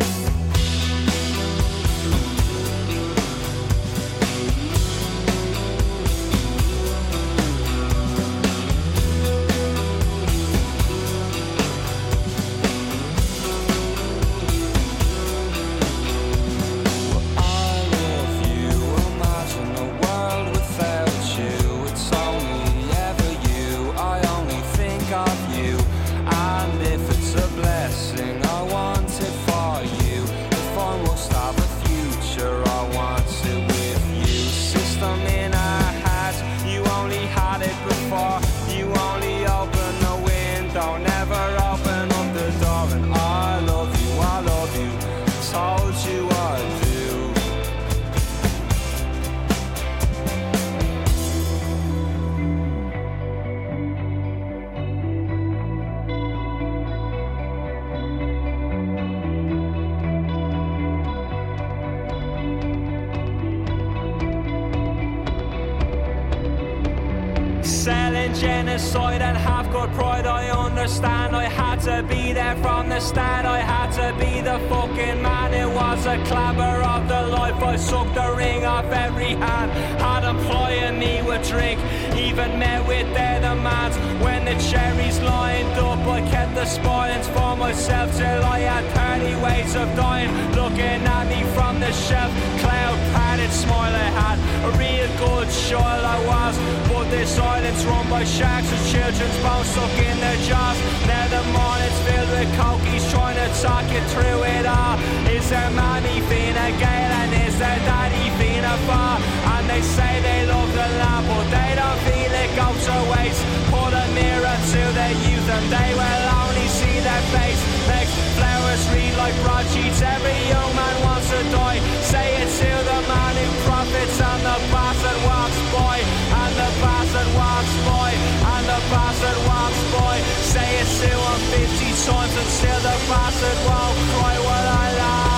Genocide and have got pride, I understand. I had to be there from the start. I had to be the fucking man. It was a clabber of the life. I sucked the ring off every hand. Had them plying me with drink, even met with their demands. When the cherries lined up, I kept the spoilings for myself till I had 30 ways of dying. Looking at me from the shelf, cloud padded smile I had. A real good child I was, but this island's run by sharks with children's bones stuck in their jaws. Now the morning's filled with cokies trying to talk you through it all. Is their mommy Fina Gael and is their daddy Fina Far? And they say they love the land but they don't feel it goes to waste. Put a mirror to their youth and they will only see their face. Makes flowers read like broadsheets, every young man wants to die. Say it to the man who profits and the bastard walks by. And the bastard walks by, and the bastard walks by. Say it to him 50 times and still the bastard won't cry. What I lie.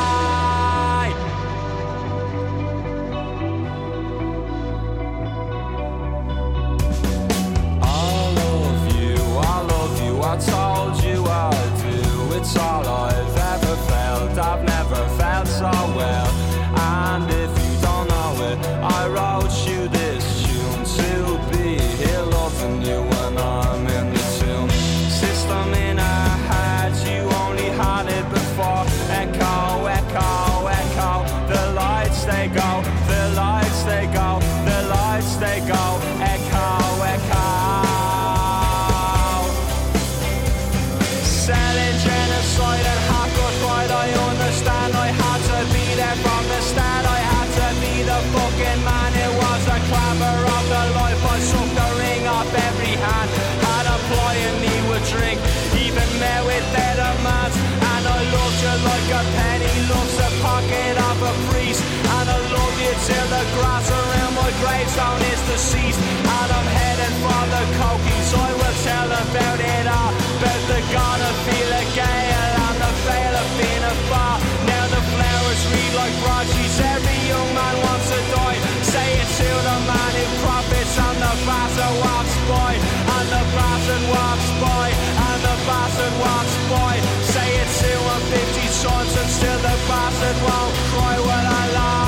I told you I do. It's all I've ever felt. I've never felt so well. And if you don't know it, I wrote you this tune to be here loving you when I'm in the tune. System in our heads, you only had it before. Echo, echo, echo. The lights they go, the lights they go, the lights they go. Echo, echo. Selling genocide and hardcore pride, I understand. I had to be there from the start. I had to be the fucking man. It was a clabber of the life. I sucked the ring off every hand. Had a plying me with drink, even met with their demands. And I loved you like a penny loves the pocket of a priest. And I love you till the grass around my gravestone is deceased. And I'm headed for the cokies. I will tell about it all. About the God of Fela Gale and the veil of Fina Far. Now the flowers read like broadsheets. Every young man wants to die. Say it to the man who profits and the bastard walks by. And the bastard walks by. And the bastard walks by. Say it to him 50 times and still the bastard won't cry. When I lie.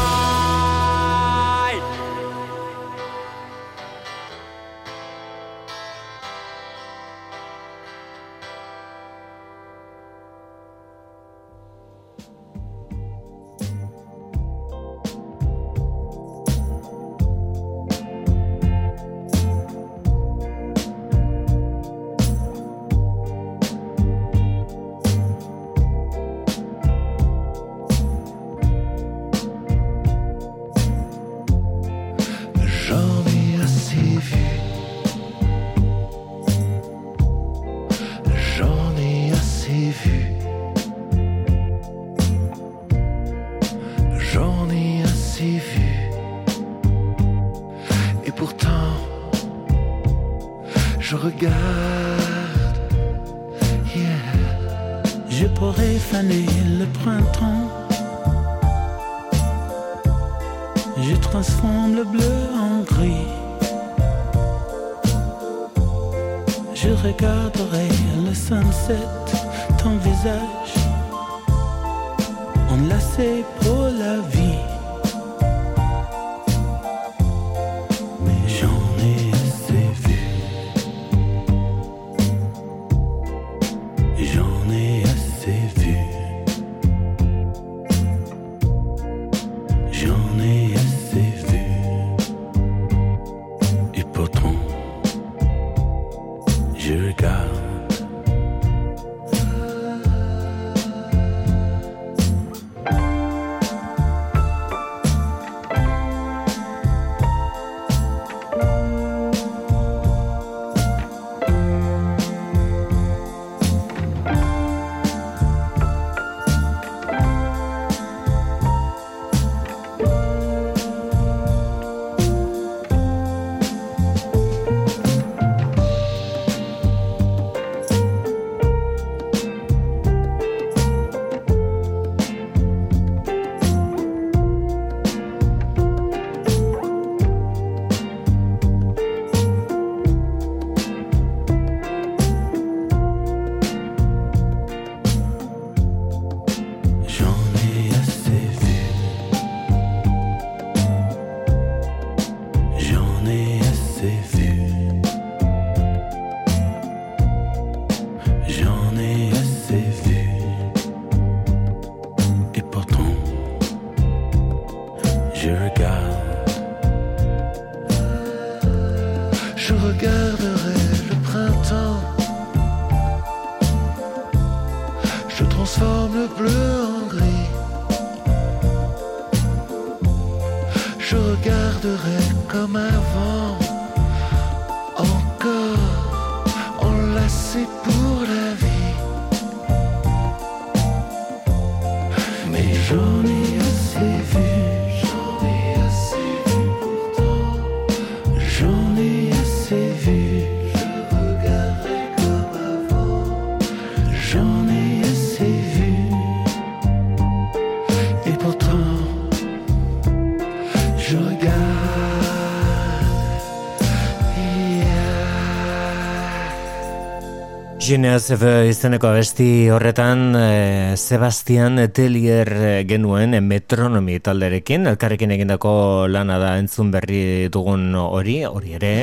je regarde, yeah. Je pourrais faner le printemps. Je transforme le bleu en gris. Je regarderai le sunset, ton visage enlacé pour la vie. Mais j'en ai assez vu. J'en ai assez vu. J'en ai assez vu. Et pourtant, je regarde. Genevieve izeneko abesti horretan Sebastian Tellier genuen metronomi talderekin, elkarrekin egindako lana da entzun berri dugun hori ere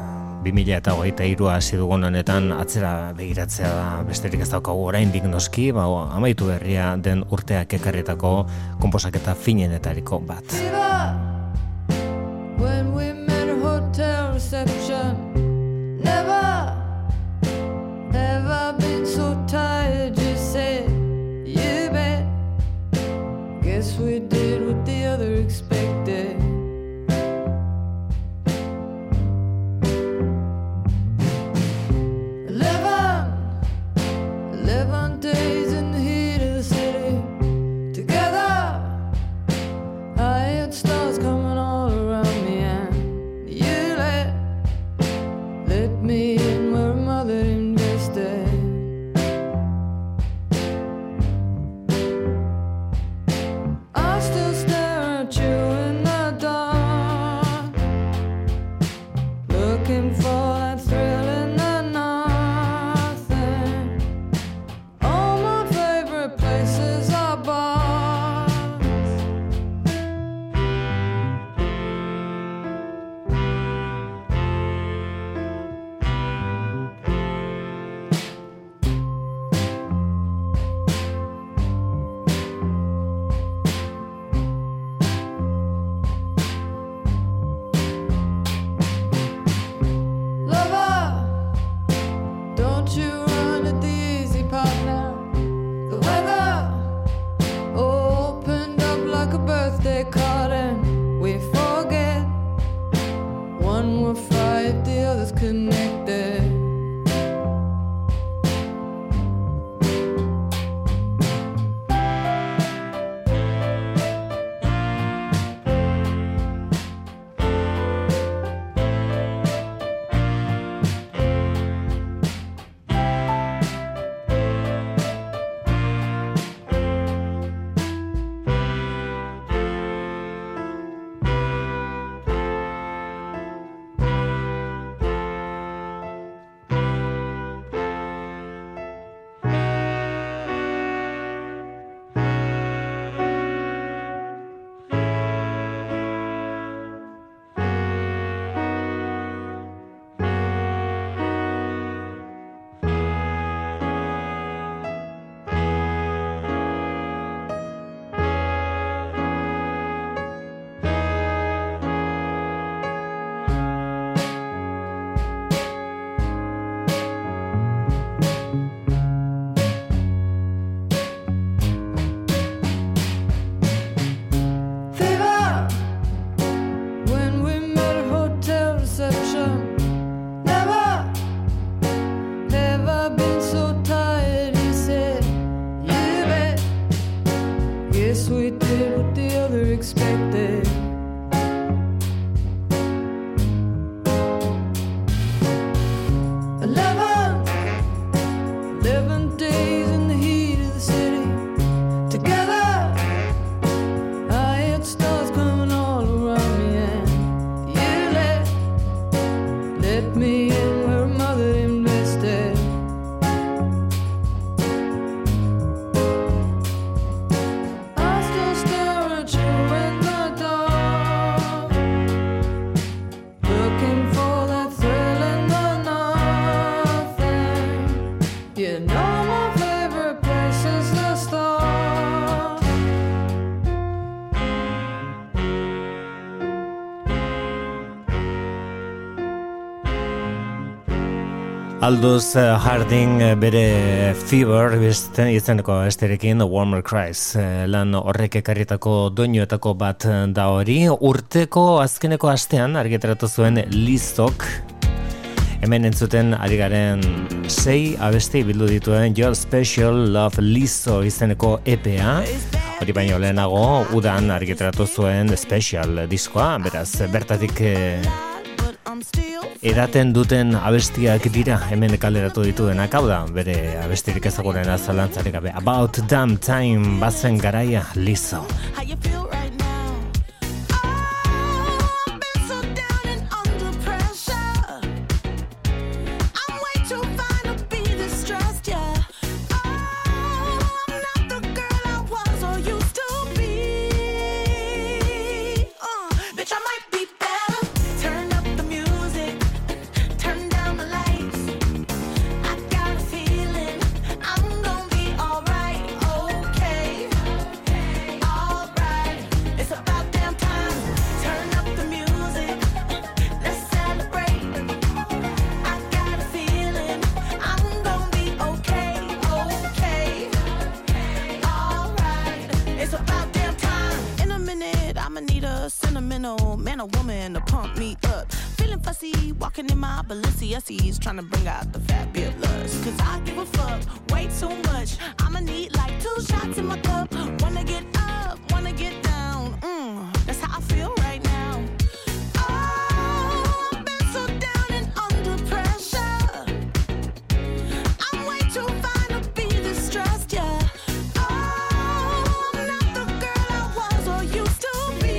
2023 hasi dugun honetan atzera begiratzea da, besterik ez daukagu oraindik noski, amaitu berria den urteak ekarritako konposaketa finenetariko bat. When we met a hotel reception, never been so tired, you said, you bet. Guess we did what the other expected. 11 days in the heat of the city together. I had stars coming all around me, and you let me in where mother invested. I still stare at you in the dark, looking for that thrill in the nothing. All my favorite places are bars. Lover, don't you run at the easy part now. The weather opened up like a birthday card, and we forget one will fry if the other's connected. Aldous Harding bere Fever izeneko esterekin Warmer Cries lan horrek ekarritako doinuetako bat da hori. Urteko azkeneko astean argitaratu zuen Lizok, hemen entzuten ari garen 6 abesti bildu dituen Your Special Love Lizzo izeneko EPA. Hori baino lehenago udan argitaratu zuen Special diskoa, beraz bertatik eraten duten abestiak dira hemen kaleratu dituenak, hau da bere abestirik ezagunena zalantzarik gabe. About Damn Time bazen garaia Lizzo. Trying to bring out the fabulous, cause I give a fuck way too much. I'ma need like 2 shots in my cup. Wanna get up, wanna get down. That's how I feel right now. Oh, I've been so down and under pressure. I'm way too fine to be distressed, yeah. Oh, I'm not the girl I was or used to be.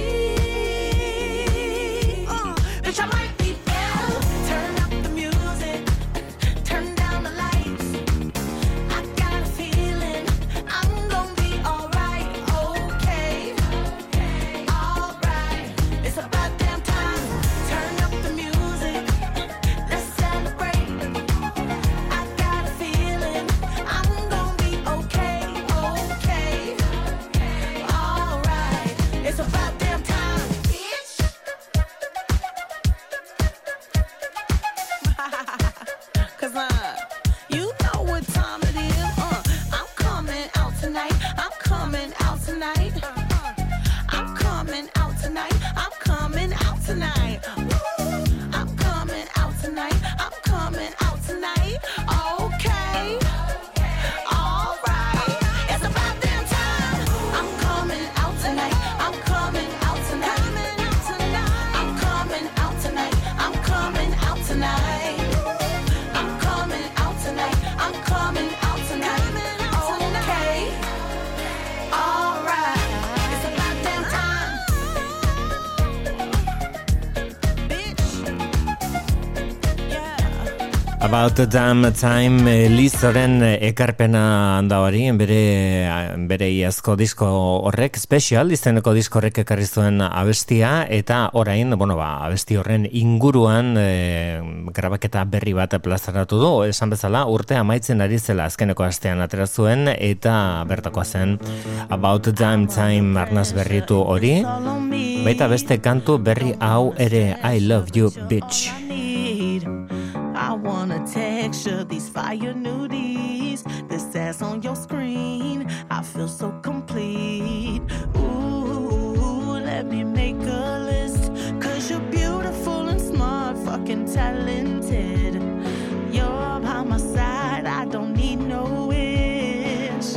Bitch, I might be better. Turn up the music. Turn down the lights. I got a feeling I'm gonna be alright, okay, alright. It's about damn time. Turn up the music. Let's celebrate. I got a feeling I'm gonna be okay, alright. It's about damn time, bitch. Cause you know what time it is. I'm coming out tonight. I'm coming out tonight. I'm coming out tonight. I'm coming out tonight. I'm coming out tonight. I'm coming out tonight. Okay. Alright. It's about damn time. I'm coming out tonight. I'm coming out tonight. I'm coming out tonight. I'm coming out tonight. I'm coming out tonight. I'm coming out tonight. Okay. Alright. It's about damn time. Bitch. Yeah. About the Damn Time Lizzoren ekarpena handa hori, bere iazko disko horrek, Special izeneko disko horrek ekarri zuen abestia, eta orain, abesti horren inguruan grabaketa berri bat plazaratu du, esan bezala urte amaitzen ari zela azkeneko astean atera zuen, eta bertakoa zen About the Damn Time arnaz berritu hori, baita beste kantu berri hau ere, I Love You Bitch. I wanna texture these fire nudies. This ass on your screen, I feel so complete. Ooh, let me make a list. Cause you're beautiful and smart, fucking talented. You're by my side, I don't need no wish.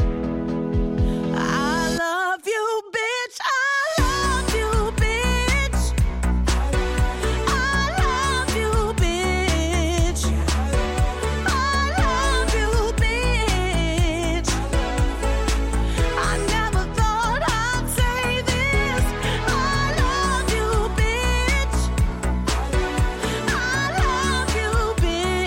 I love you, bitch. I love you, bitch. I love you, bitch. I love you, bitch. I never thought I'd say this. I love you, bitch. I love you, bitch.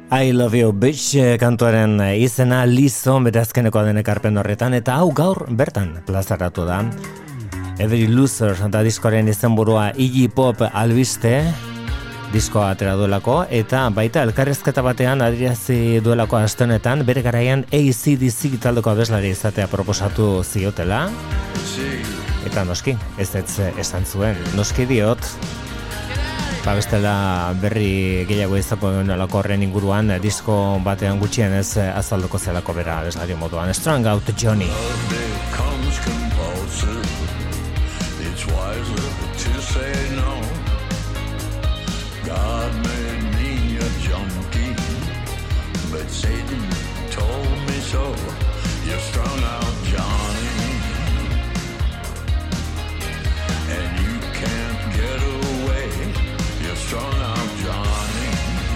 I Love You Bitch kantuaren izena Lizo berazkeneko den ekarpen horretan, eta hau gaur bertan plazaratu da. Every Loser da diskoaren izenburua Iggy Pop albiste diskoa atera duelako, eta baita elkarrezketa batean adirazi duelako aste honetan bere garaian AC/DC taldeko abeslari izatea proposatu ziotela, eta noski, ez esan zuen, noski diot. Bestela berri gehiago izako duenelako horren inguruan disko batean gutxien ez azalduko zelako bera abeslari moduan. Strung Out Johnny. It's wiser to say no. God made me a junkie, but Satan told me so. You're strung out, Johnny, and you can't get away. You're strung out, Johnny,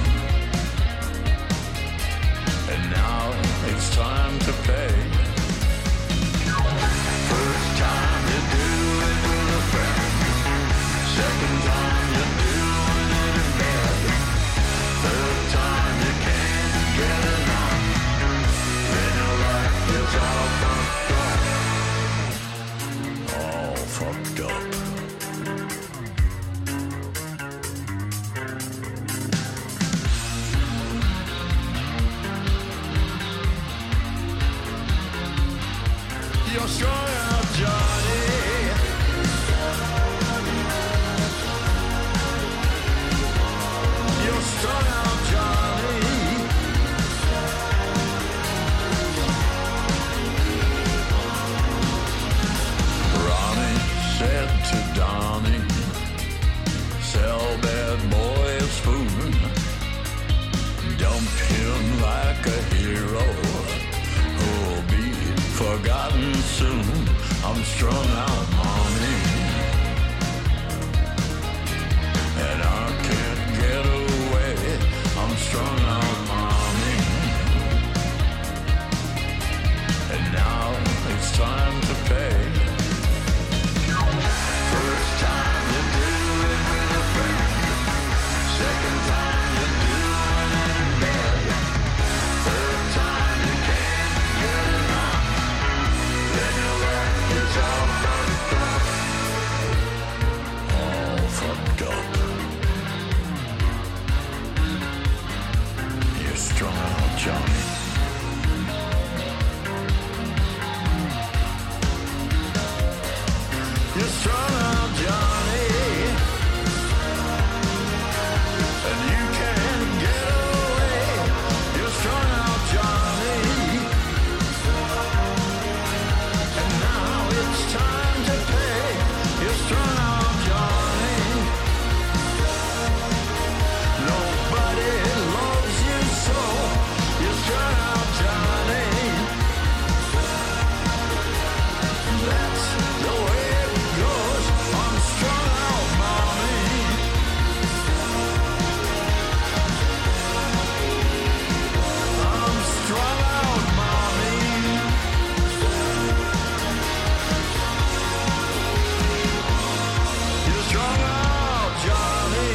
and now it's time to pay. First time you do it with a friend, second time you do it in bed, third time you can't get enough, then your life is all fucked up. You're strung out, Johnny. You're strung out, Johnny. Ronnie said to Donnie, sell bad boy's food, dump him like a hero who'll be forgotten soon. I'm strung out, mommy, and I can't get away. I'm strung out, mommy, and now it's time to pay. First time you do it with a friend, second time you do it in bed, third time you can't get enough, then your life is all fucked up. All fucked up. You're strung out, Johnny. You're strung out, Johnny, and you can't get away. You're strung out, Johnny, and now it's time to pay. You're strung out, Johnny. Nobody loves you so. You're strung out, Johnny. That's the way it goes. I'm strung out, mommy. I'm strung out, mommy. You're strung out, Johnny.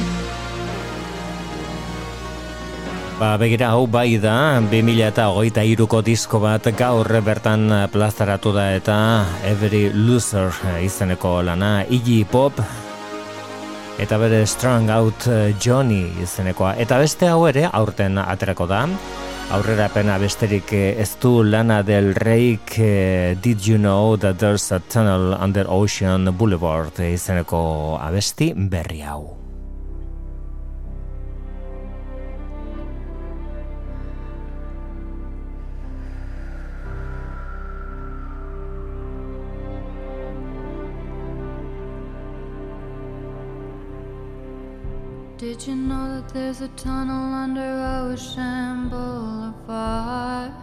Begira, hau bai da 2023ko disko bat gaur bertan plazaratu da, eta Every Loser izeneko lana Iggy Pop, eta bere Strung Out Johnny izenekoa, eta beste hau ere aurten aterako da. Aurrerapena besterik ez du Lana Del Reyk Did You Know That There's a Tunnel Under Ocean Boulevard izeneko abesti berri hau. Did you know that there's a tunnel under Ocean Boulevard?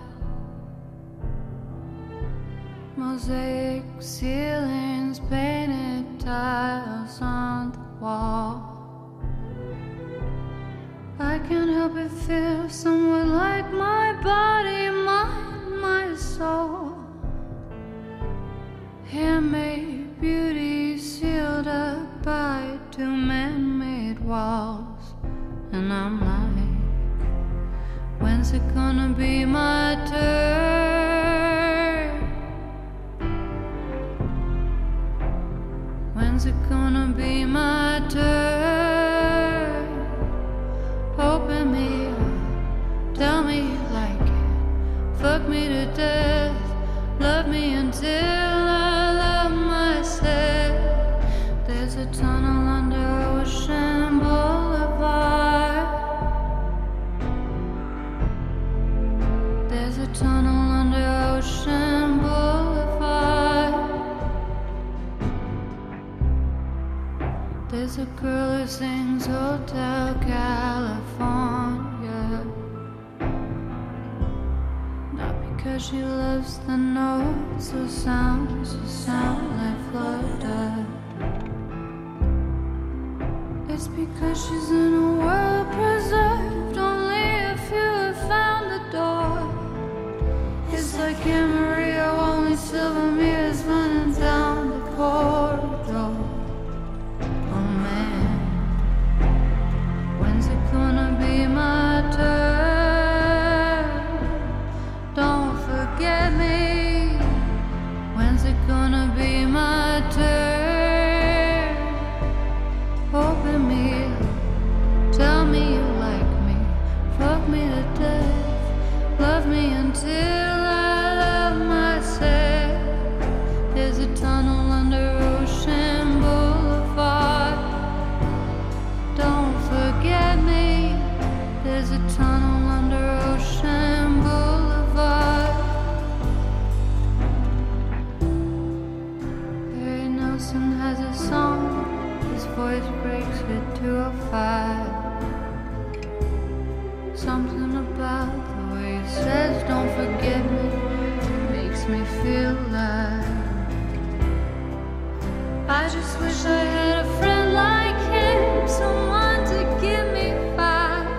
Mosaic ceilings, painted tiles on the wall. I can't help but feel somewhat like my body, my soul. Handmade beauty sealed up by two man-made walls. And I'm like, When's it gonna be my turn? When's it gonna be my turn? Open me up, tell me you like it, fuck me to death, love me until I love myself. There's a tunnel under Ocean Boulevard. There's a tunnel under Ocean Boulevard. There's a girl who sings Hotel California, not because she loves the notes or sounds like Florida. It's because she's in a world preserved. Only a few have found the door. It's like Anne Maria, only silver mirrors running down the corridor. Oh man, when's it gonna be my turn? Don't forget me. When's it gonna be my turn? Open me up, tell me you like me, fuck me to death, love me until I love myself. There's a tunnel under Ocean Boulevard. Don't forget me. There's a tunnel under Ocean Boulevard. Harry Nilsson has a song. His voice breaks at 2:05. Something about the way he says don't forget me makes me feel alive. I just wish I had a friend like him, someone to give me five.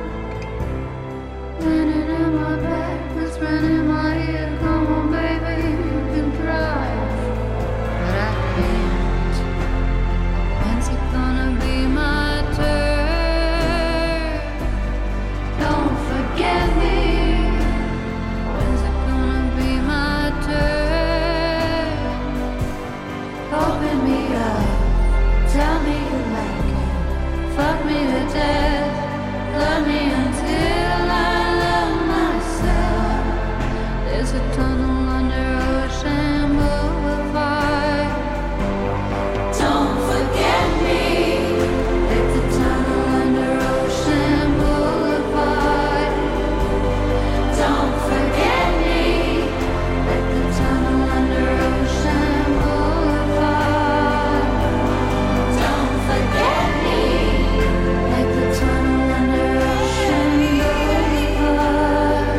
Running in my back, whispering in my ear, come on baby, you can drive. But I can't. When's it gonna be my turn? Don't forget me. When's it gonna be my turn? Open me up, tell me you like it, fuck me to death, love me until I love myself. There's a tunnel under Ocean Boulevard. Don't forget me. Like the tunnel under Ocean Boulevard. Don't forget me. Like the tunnel under Ocean Boulevard. Don't forget me. Like the tunnel under Ocean Boulevard.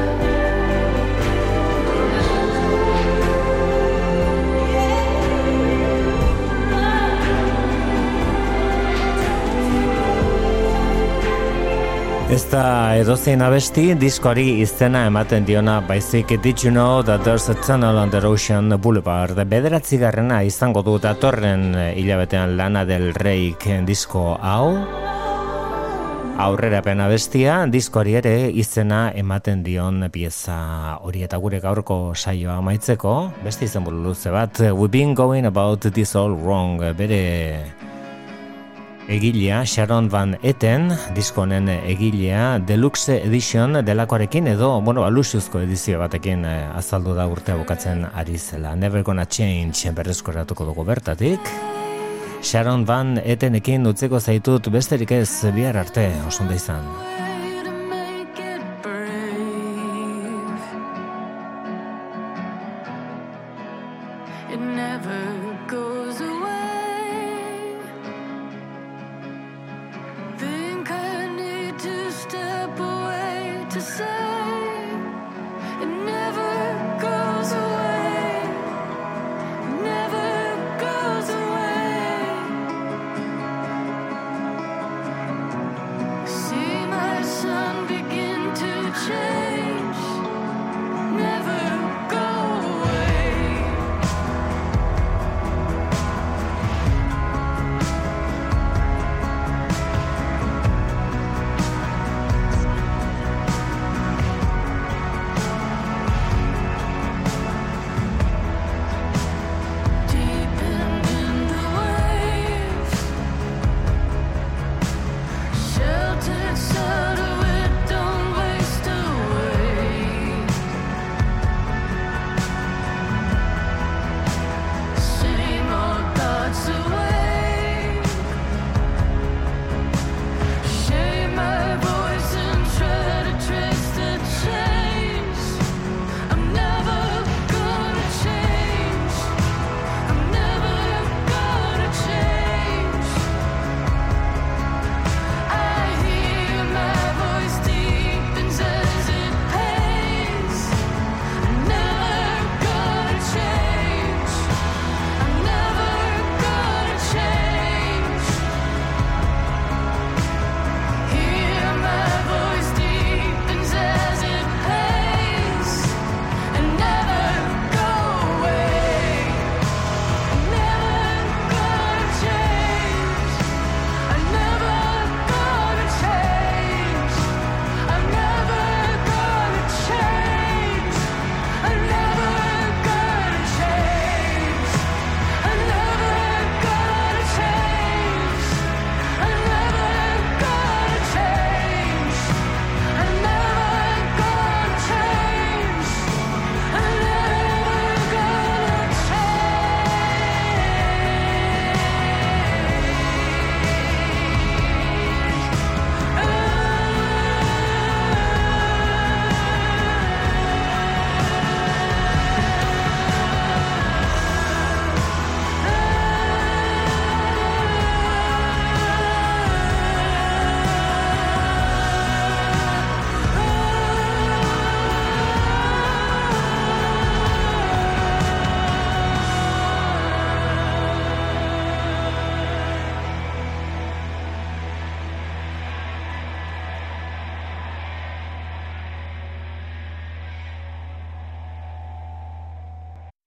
Ez da edozein abesti diskoari izena ematen diona, baizik Did You Know That There's a Tunnel Under Ocean Boulevard. Bederatzigarrena izango du datorren hilabetean Lana Del Reyk disko hau. Aurrerapen abestia, diskoari ere izena ematen dion pieza hori, eta gure gaurko saioa amaitzeko, beste izenburu luze bat, We've Been Going About This All Wrong, bere egilea Sharon Van Etten, diskonen egilea Deluxe Edition delakoarekin edo, luxuzko edizio batekin azaldu da urtea bukatzen ari zela. Never Gonna Change berreskoratuko dugu bertatik. Sharon Van Ettenekin utzeko zaitut besterik ez, bihar arte, oso ondo izan.